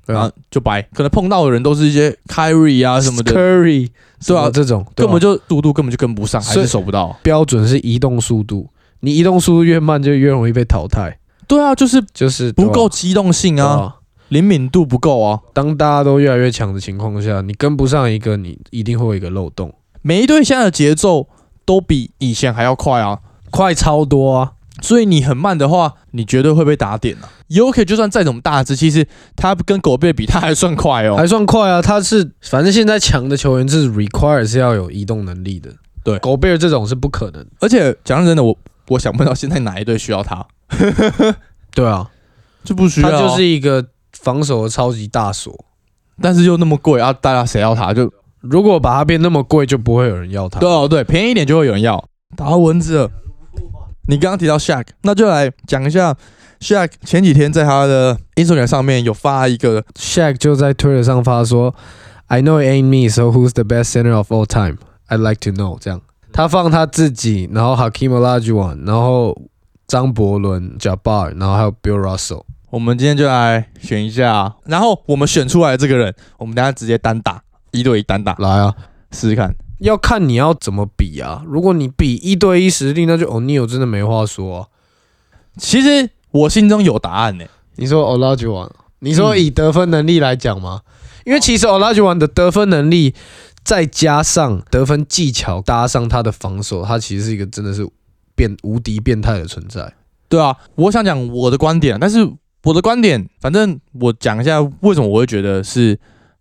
然后就白，可能碰到的人都是一些 Kyrie 啊什么的 ，Curry， 对啊， 这种根本就速度根本就跟不上，还是守不到。 标准是移动速度，你移动速度越慢，就越容易被淘汰。 对啊，就是就是不够机动性啊，灵敏度不够啊。 当大家都越来越强的情况下，你跟不上一个，你一定会有一个漏洞。 每一队现在的节奏都比以前还要快啊， 快超多啊！ 所以你很慢的话，你绝对会被打点啊。U K 就算再怎么大只，其实他跟狗贝比，他还算快哦， 还算快啊。他是反正现在强的球员是 require 是要有移动能力的， 对， 狗贝尔这种是不可能。 而且讲真的，我我想不到现在哪一队需要他。 对啊， 就不需要， 他就是一个防守的超级大锁， 但是又那么贵啊，大家谁要他？就如果把它变那么贵，就不会有人要它。 对哦，对，便宜一点就会有人要。打到蚊子了。你刚刚提到 Shaq， 那就来讲一下 Shaq 前几天在他的 Instagram 上面有发一个 ，Shaq 就在 Twitter 上发说 ，I know it ain't me, so who's the best center of all time? I'd like to know。这样，他放他自己，然后 Hakeem Olajuwon， 然后张伯伦、Jabbar， 然后还有 Bill Russell。 我们今天就来选一下，然后我们选出来的这个人，我们等一下直接单打，一对一单打， 来啊， 试试看。 要看你要怎么比啊。如果你比一对一实力，那就 O'Neal 真的没话说啊。 其实我心中有答案呢、欸。 你说 Olajuwon， 你说以得分能力来讲吗？嗯、因为其实 Olajuwon 的得分能力，再加上得分技巧，搭上他的防守，他其实是一个真的是变无敌变态的存在。 对啊，我想讲我的观点，但是我的观点，反正我讲一下为什么我会觉得是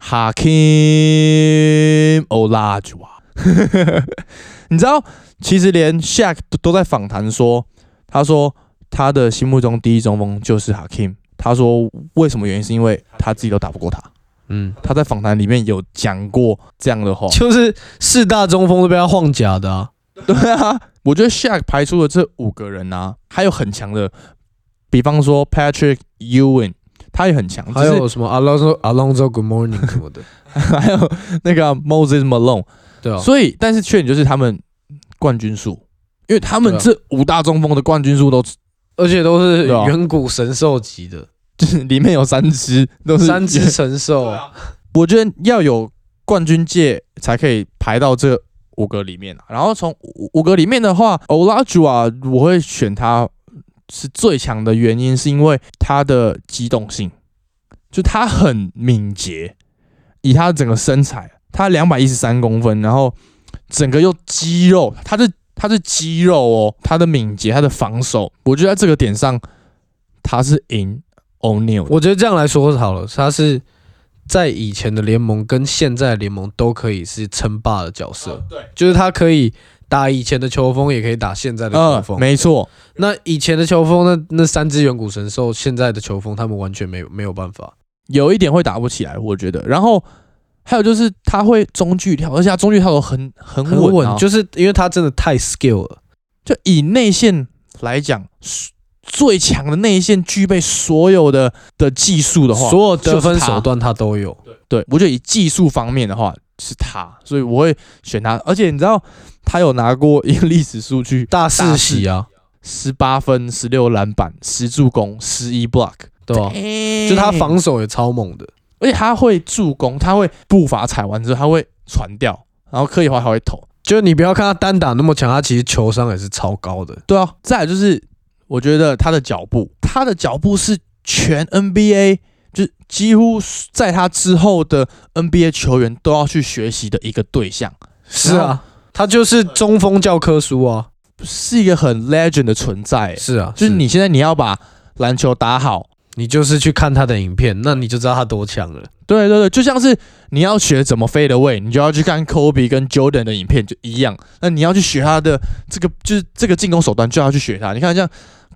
Hakeem Olajuwon。你知道，其实连 Shaq 都在访谈说，他说他的心目中第一中锋就是 Hakeem。他说为什么原因是因为他自己都打不过他。嗯，他在访谈里面有讲过这样的话， 就是四大中锋都被他晃假的啊。 对啊，我觉得 Shaq 排出的这五个人啊，还有很强的，比方说 Patrick Ewing， 他也很强。 还有什么 Alonzo Alonzo Good Morning 什么的， 还有那个 Moses Malone。 对啊， 所以但是缺点就是他们冠军数，因为他们这五大中锋的冠军数都， 而且都是远古神兽级的， 就是里面有三只都是三只神兽。啊、 我觉得要有冠军界才可以排到这五个里面、啊、然后从五个里面的话 ，Olajuwon 我会选他是最强的原因，是因为他的机动性，就他很敏捷，以他整个身材。他两百一十三公分，然后整个又肌肉，他是他是肌肉哦，他的敏捷，他的防守，我觉得在这个点上他是赢 O'Neal。 我觉得这样来说好了，他是在以前的联盟跟现在的联盟都可以是称霸的角色，呃、对，就是他可以打以前的球风，也可以打现在的球风， 呃、没错。 那以前的球风，那那三只远古神兽，现在的球风，他们完全没有没有办法， 有一点会打不起来，我觉得。然后。还有就是他会中距跳，而且他中距跳都很很稳、啊， 很稳，就是因为他真的太 skill 了。 就以内线来讲，最强的内线具备所有的的技术的话， 所有得分手段他都有。 对，我觉得以技术方面的话是他，所以我会选他。而且你知道他有拿过一个历史数据， 大四喜啊， 十八分、十六篮板、十助攻、十一 block， 对吧、啊？就他防守也超猛的。 而且他会助攻，他会步伐踩完之后他会传掉，然后柯以华还会投。 就是你不要看他单打那么强，他其实球商也是超高的。 对啊，再来就是我觉得他的脚步，他的脚步是全 N B A 就是几乎在他之后的 N B A 球员都要去学习的一个对象。 是啊，他就是中锋教科书啊， 是一个很 legend 的存在。 是啊， 就是你现在你要把篮球打好。 你就是去看他的影片，那你就知道他多强了。 对对对，就像是你要学怎么飞的位，你就要去看 Kobe 跟 Jordan 的影片就一样。那你要去学他的这个就是这个进攻手段，就要去学他。你看像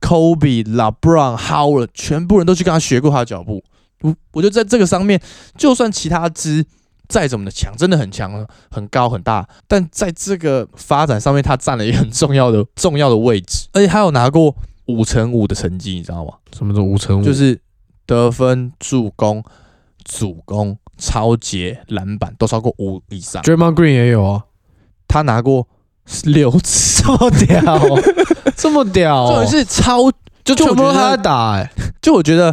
Kobe、LeBron、Howard， 全部人都去跟他学过他的脚步。我我觉得在这个上面，就算其他支再怎么的强，真的很强，很高很大，但在这个发展上面，他占了一个很重要的重要的位置，而且他有拿过。五乘五的成绩，你知道吗？ 什么叫五乘五？ 就是得分、助攻、主攻、抄截、篮板都超过五以上。 Draymond Green 也有啊， 他拿过六次， 这么屌、喔，这么屌、喔， 重点是超， 就全部都他在打哎、欸。 就我觉得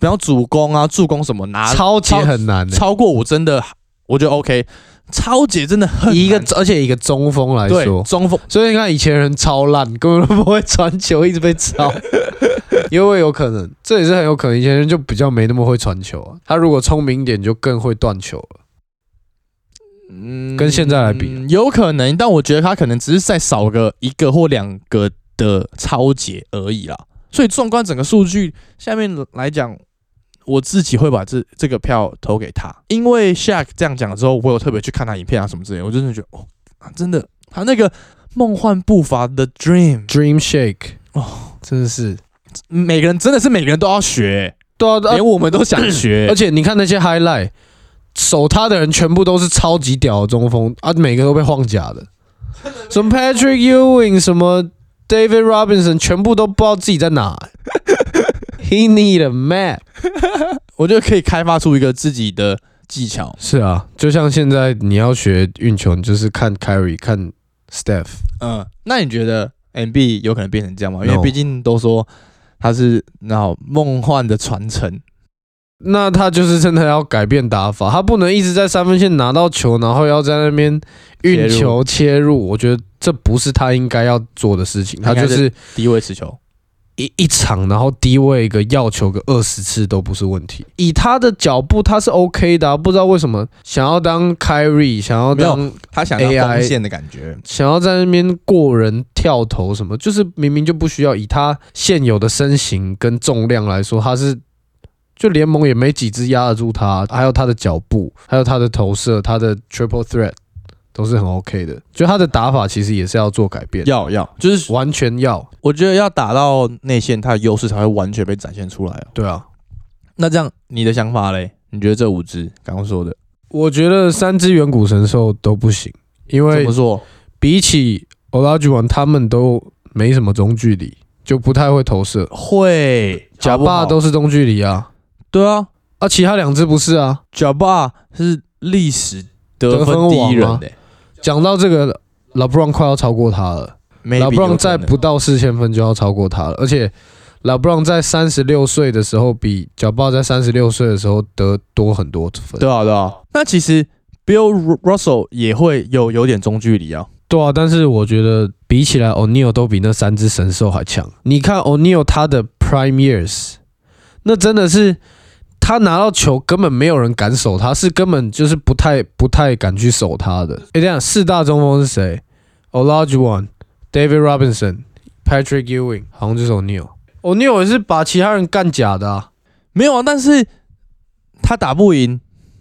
比方主攻啊、助攻什么拿超级很难、欸， 超过我真的我觉得 OK。超姐真的很难以一个而且以一个中锋来说， 中锋， 所以你看以前人超烂，根本都不会传球，一直被抄，因为有可能，这也是很有可能。以前人就比较没那么会传球啊，他如果聪明一点，就更会断球了。嗯，跟现在来比、啊， 有可能，但我觉得他可能只是再少个一个或两个的超节而已啦。所以纵观整个数据下面来讲。我自己会把这这个票投给他，因为 Shaq 这样讲了之后，我有特别去看他影片啊什么之类的，我真的觉得哦，真的他那个梦幻步伐的 Dream Dream Shake 哦，真的是每个人真的是每个人都要学， 对啊， 连我们都想学。 而且你看那些 highlight， 守他的人全部都是超级屌的中锋啊，每个都被晃假的，什么 Patrick Ewing， 什么 David Robinson， 全部都不知道自己在哪、欸。He need a map 我觉得可以开发出一个自己的技巧。 是啊，就像现在你要学运球，你就是看 Kyrie 看 Steph。 嗯，那你觉得 M B 有可能变成这样吗？因为毕竟都说他是那梦幻的传承。 那他就是真的要改变打法，他不能一直在三分线拿到球，然后要在那边运球切入。我觉得这不是他应该要做的事情。他就是低位持球。 一一场，然后低位一个要球个二十次都不是问题。以他的脚步，他是 OK 的、啊，不知道为什么想要当 Kyrie， 想要当他想要锋线的感觉， 想要在那边过人跳投什么，就是明明就不需要。以他现有的身形跟重量来说，他是就联盟也没几支压得住他，还有他的脚步，还有他的投射，他的 triple threat。都是很 OK 的，就他的打法其实也是要做改变， 要要就是完全要， 我觉得要打到内线，他的优势才会完全被展现出来、哦。 对啊， 那这样你的想法嘞？你觉得这五支刚刚说的， 我觉得三支远古神兽都不行，因为怎么说？ 比起 Olajuwon 他们都没什么中距离，就不太会投射。 会， 贾巴都是中距离啊， 对啊， 啊，其他两支不是啊， 贾巴是历史得分第一人的、欸。 讲到这个 ，LeBron 快要超过他了。LeBron 在不到四千分就要超过他了，而且 LeBron 在三十六岁的时候比脚爆在三十六岁的时候得多很多分。 对啊，对啊。那其实 Bill Russell 也会有有点中距离啊。 对啊，但是我觉得比起来 O'Neal 都比那三只神兽还强。你看 O'Neal 他的 Prime Years， 那真的是。他拿到球根本没有人敢守他，是根本就是不太不太敢去守他的。哎，这样四大中锋是谁 ？Olajuwon、David Robinson、Patrick Ewing， 好像就是 O'Neal。O'Neal 也是把其他人干假的啊， 没有啊，但是他打不赢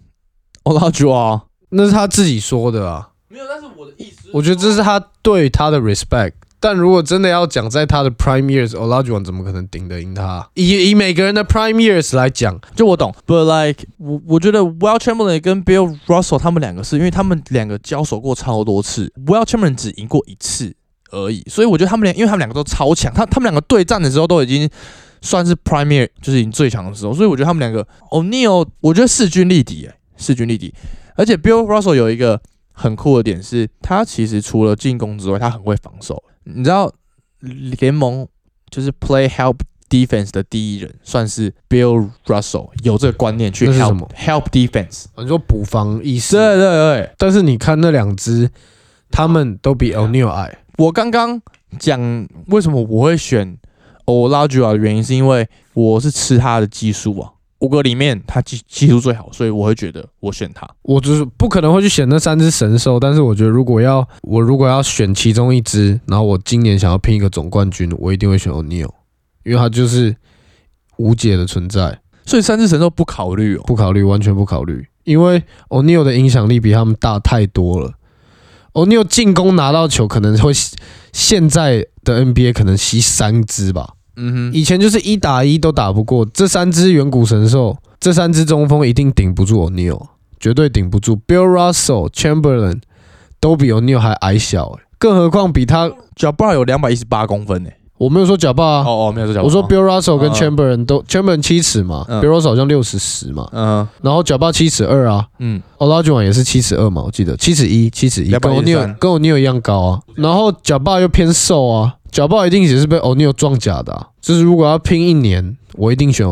Olajuwon， 那是他自己说的啊。 没有，但是我的意思， 我觉得这是他对他的 respect。但如果真的要讲在他的 prime years，Olajuwon 怎么可能顶得赢他？以以每个人的 prime years 来讲， 就我懂 ，but like 我我觉得 Will Chamberlain 跟 Bill Russell 他们两个是因为他们两个交手过超多次 ，Will Chamberlain 只赢过一次而已，所以我觉得他们俩，因为他们两个都超强，他他们两个对战的时候都已经算是 prime year， 就是已经最强的时候，所以我觉得他们两个 O'Neal 我觉得势均力敌，哎，势均力敌，而且 Bill Russell 有一个很酷的点是，他其实除了进攻之外，他很会防守，你知道。联盟就是 play help defense 的第一人，算是 Bill Russell 有这个观念去 help help defense。 你说补防意识？ 对对对。 但是你看那两支，他们都比 O'Neal 矮。 我刚刚讲为什么我会选 Olajuwon 的原因，是因为我是吃他的技术啊。五个里面他技技术最好，所以我会觉得我选他。 我就是不可能会去选那三只神兽，但是我觉得如果要我如果要选其中一只，然后我今年想要拼一个总冠军，我一定会选 O'Neal， 因为他就是无解的存在。 所以三只神兽不考虑哦， 不考虑，完全不考虑，因为 O'Neal 的影响力比他们大太多了。O'Neal 进攻拿到球可能会现在的 N B A 可能吸三只吧。嗯哼，以前就是一打一都打不过，这三只远古神兽，这三只中锋一定顶不住 O'Neal， 绝对顶不住。Bill Russell、Chamberlain 都比 O'Neal 还矮小、欸，更何况比他脚爆有两百一十八公分呢、欸。 我没有说脚爆啊， 哦哦，没有说脚爆。 我说 Bill Russell 跟 Chamberlain 都、嗯、Chamberlain 七尺嘛、嗯、，Bill Russell 好像六十十嘛，嗯，然后脚爆七尺二啊，嗯 ，Olajuwon 也是七尺二嘛，我记得七尺一，七尺一，跟 O'Neal 跟 O'Neal 一样高啊，然后脚爆又偏瘦啊。脚爆一定也是被 O'Neal 撞假的、啊，就是如果要拼一年，我一定选 O'Neal。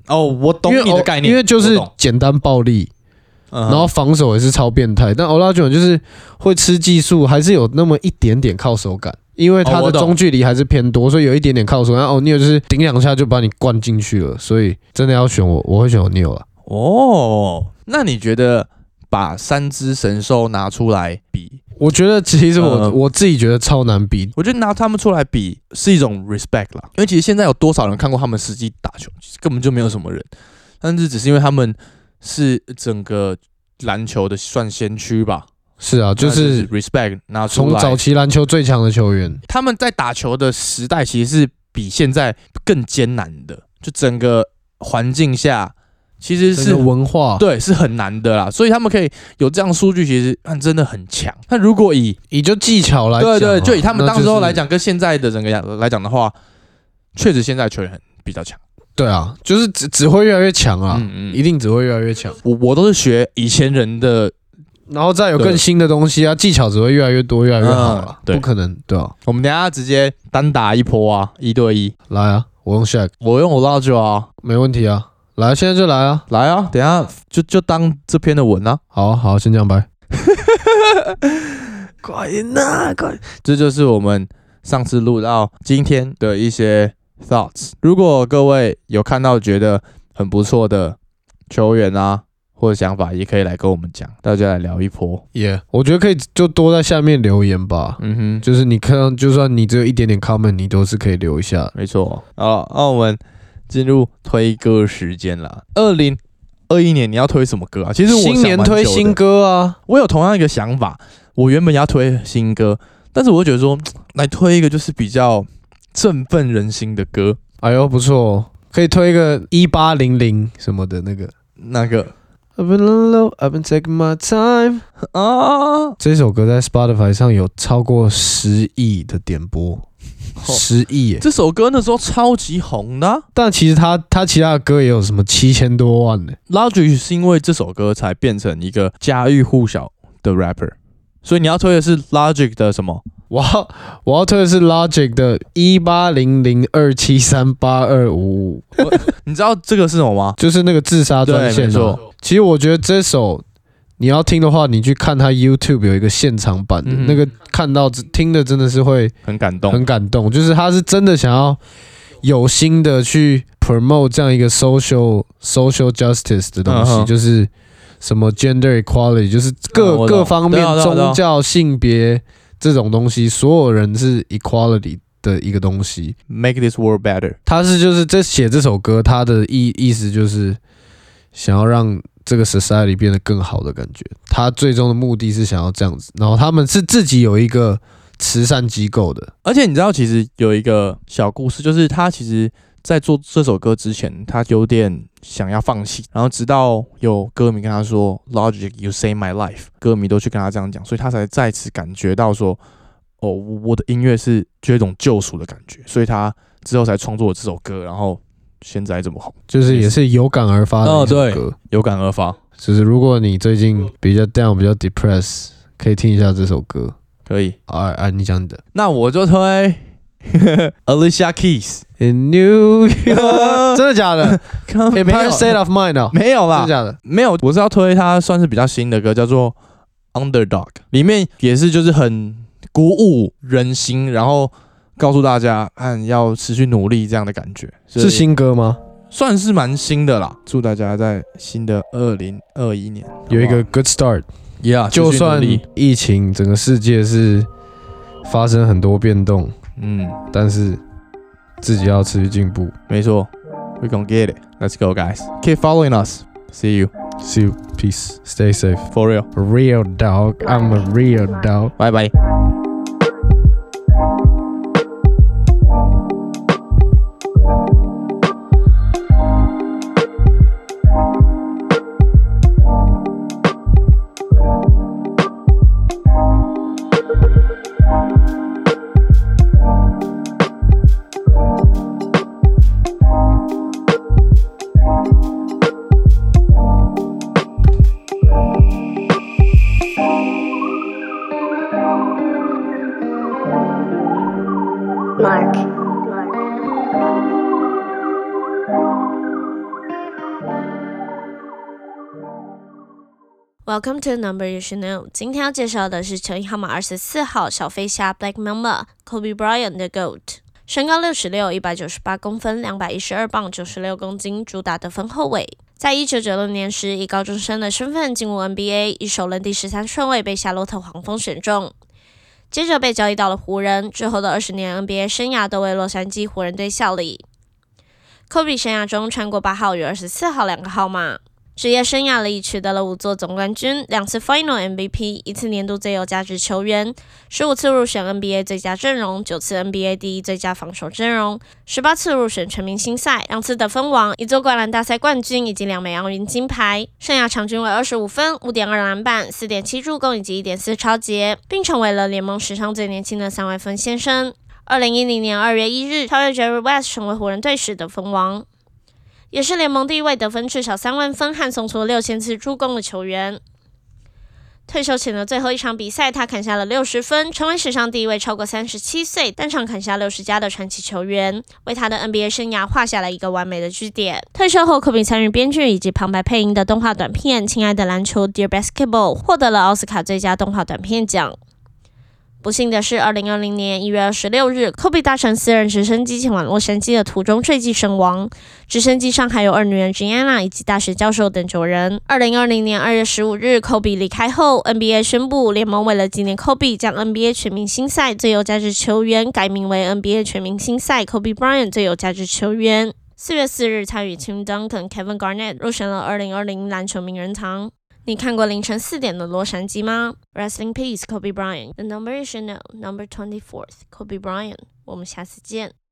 哦，我懂你的概念， 因为就是简单暴力。然后防守也是超变态，但 Olajuwon 就是会吃技术，还是有那么一点点靠手感，因为他的中距离还是偏多，所以有一点点靠手感。O'Neal 就是顶两下就把你灌进去了，所以真的要选我，我会选 O'Neal 了。 哦，那你觉得把三只神兽拿出来比？ 我觉得其实我、呃、我自己觉得超难比。 我觉得拿他们出来比是一种 respect 啦，因为其实现在有多少人看过他们实际打球，其实根本就没有什么人，但是只是因为他们是整个篮球的算先驱吧？ 是啊，就是 respect 拿出来。 从早期篮球最强的球员， 他们在打球的时代其实是比现在更艰难的，就整个环境下其实是文化对是很难的啦，所以他们可以有这样的数据，其实真的很强。那如果以以就技巧来讲， 对对，就以他们当时候来讲，跟现在的整个来讲的话，确实现在球员很比较强。 对啊，就是只只会越来越强啊，嗯嗯，一定只会越来越强。 我我都是学以前人的， 然后再有更新的东西啊，技巧只会越来越多，越来越好了、嗯。不可能，对啊。 我们等一下直接单打一波啊，一对一。 来啊，我用 Shaq， 我用 Olajuwon 啊， 没问题啊。来，现在就来啊， 来啊，等一下就就当这篇的文啊。 好好，先这样拜。快点啊，快！ 这就是我们上次录到今天的一些 thoughts。如果各位有看到觉得很不错的球员啊，或者想法，也可以来跟我们讲，大家来聊一波。 Yeah， 我觉得可以就多在下面留言吧。嗯哼，就是你看到，就算你只有一点点 comment， 你都是可以留一下。 没错。好，那我们进入推歌时间啦。二零二一年你要推什么歌啊？其实我新年推新歌啊。 我有同样一个想法，我原本要推新歌，但是我就觉得说，来推一个就是比较振奋人心的歌。 哎呦，不错哦，可以推一个一八零零什么的那个那个。 I've been low, I've been taking my time 啊！这首歌在 Spotify 上有超过十亿的点播，十亿耶！ 这首歌那时候超级红的、啊， 但其实他他其他的歌也有什么七千多万呢。 Logic 是因为这首歌才变成一个家喻户晓的 rapper， 所以你要推的是 Logic 的什么？ 我要我要推的是 Logic 的一八零零二七三八二五五。 你知道这个是什么吗？ 就是那个自杀专线、啊。其实我觉得这首你要听的话，你去看他 YouTube 有一个现场版的，嗯、那个看到听的真的是会很感动， 很感动。就是他是真的想要有心的去 promote 这样一个 social social justice 的东西，嗯、就是什么 gender equality， 就是各、嗯、各方面宗教、性别这种东西，所有人是 equality 的一个东西。 Make this world better。 他是就是这写这首歌，他的意意思就是想要让这个 society 变得更好的感觉。他最终的目的是想要这样子，然后他们是自己有一个慈善机构的。 而且你知道，其实有一个小故事，就是他其实在做这首歌之前，他有点想要放弃，然后直到有歌迷跟他说 Logic you save my life， 歌迷都去跟他这样讲，所以他才再次感觉到说，哦，我的音乐是就有一种救赎的感觉，所以他之后才创作了这首歌，然后现在这么红， 就是也是有感而发的一首歌。哦， 对，有感而发。 就是如果你最近比较 down 比较 depressed， 可以听一下这首歌。 可以。 啊啊，你讲你的。 那我就推Alicia Keys In New York。真的假的？Empire State of Mind 哦， 没有啦， 真的假的？ 没有，我是要推他算是比较新的歌，叫做 Underdog， 里面也是就是很鼓舞人心，然后告诉大家，看要持续努力这样的感觉。 是新歌吗？ 算是蛮新的啦。祝大家在新的二零二一年有一个 good start。Yeah， 就算疫情整个世界是发生很多变动，嗯，但是自己要持续进步。 没错 ，We gonna get it. Let's go, guys. Keep following us. See you. See you. Peace. Stay safe. For real. A real dog. I'm a real dog. Bye bye. Welcome to the number you should know. 今天要介绍的是球衣号码二十四号小飞侠 Black Mamba Kobe Bryant 的 GOAT。身高六十六，一百九十八公分，两百一十二磅，九十六公斤，主打得分后卫。在一九九六年时，以高中生的身份进入 N B A， 以首轮第十三顺位被夏洛特黄蜂选中，接着被交易到了湖人。之后的二十年 N B A 生涯都为洛杉矶湖人队效力。Kobe 生涯中穿过八号与二十四号两个号码。职业生涯里取得了五座总冠军，两次 Final M V P， 一次年度最有价值球员，十五次入选 N B A 最佳阵容，九次 N B A 第一最佳防守阵容，十八次入选全明星赛，两次得分王，一座灌篮大赛冠军以及两枚奥运金牌。生涯场均为二十五分， 五点二篮板， 四点七助攻以及 一点四抄截，并成为了联盟史上最年轻的三位分先生。二零一零年二月一日，超越 Jerry West 成为湖人队史得分王，也是联盟第一位得分至少三万分和送出六千次助攻的球员。退休前的最后一场比赛，他砍下了六十分，成为史上第一位超过三十七岁单场砍下六十加的传奇球员，为他的 N B A 生涯画下了一个完美的句点。退休后，科比参与编剧以及旁白配音的动画短片《亲爱的篮球》Dear Basketball 获得了奥斯卡最佳动画短片奖。不幸的是，二零二零年一月二十六日，科比搭乘私人直升机前往洛杉矶的途中坠机身亡。直升机上还有二女儿 Gianna 以及大学教授等九人。二零二零年二月十五日，科比离开后 ，N B A 宣布联盟为了纪念科比，将 N B A 全明星赛最有价值球员改名为 N B A 全明星赛 Kobe Bryant 最有价值球员。四月四日，他与 Tim Duncan、Kevin Garnett 入选了二零二零篮球名人堂。你看过凌晨四点的洛杉矶吗 ？Rest in peace, Kobe Bryant. The number you should know, number twenty-fourth, Kobe Bryant. 我们下次见。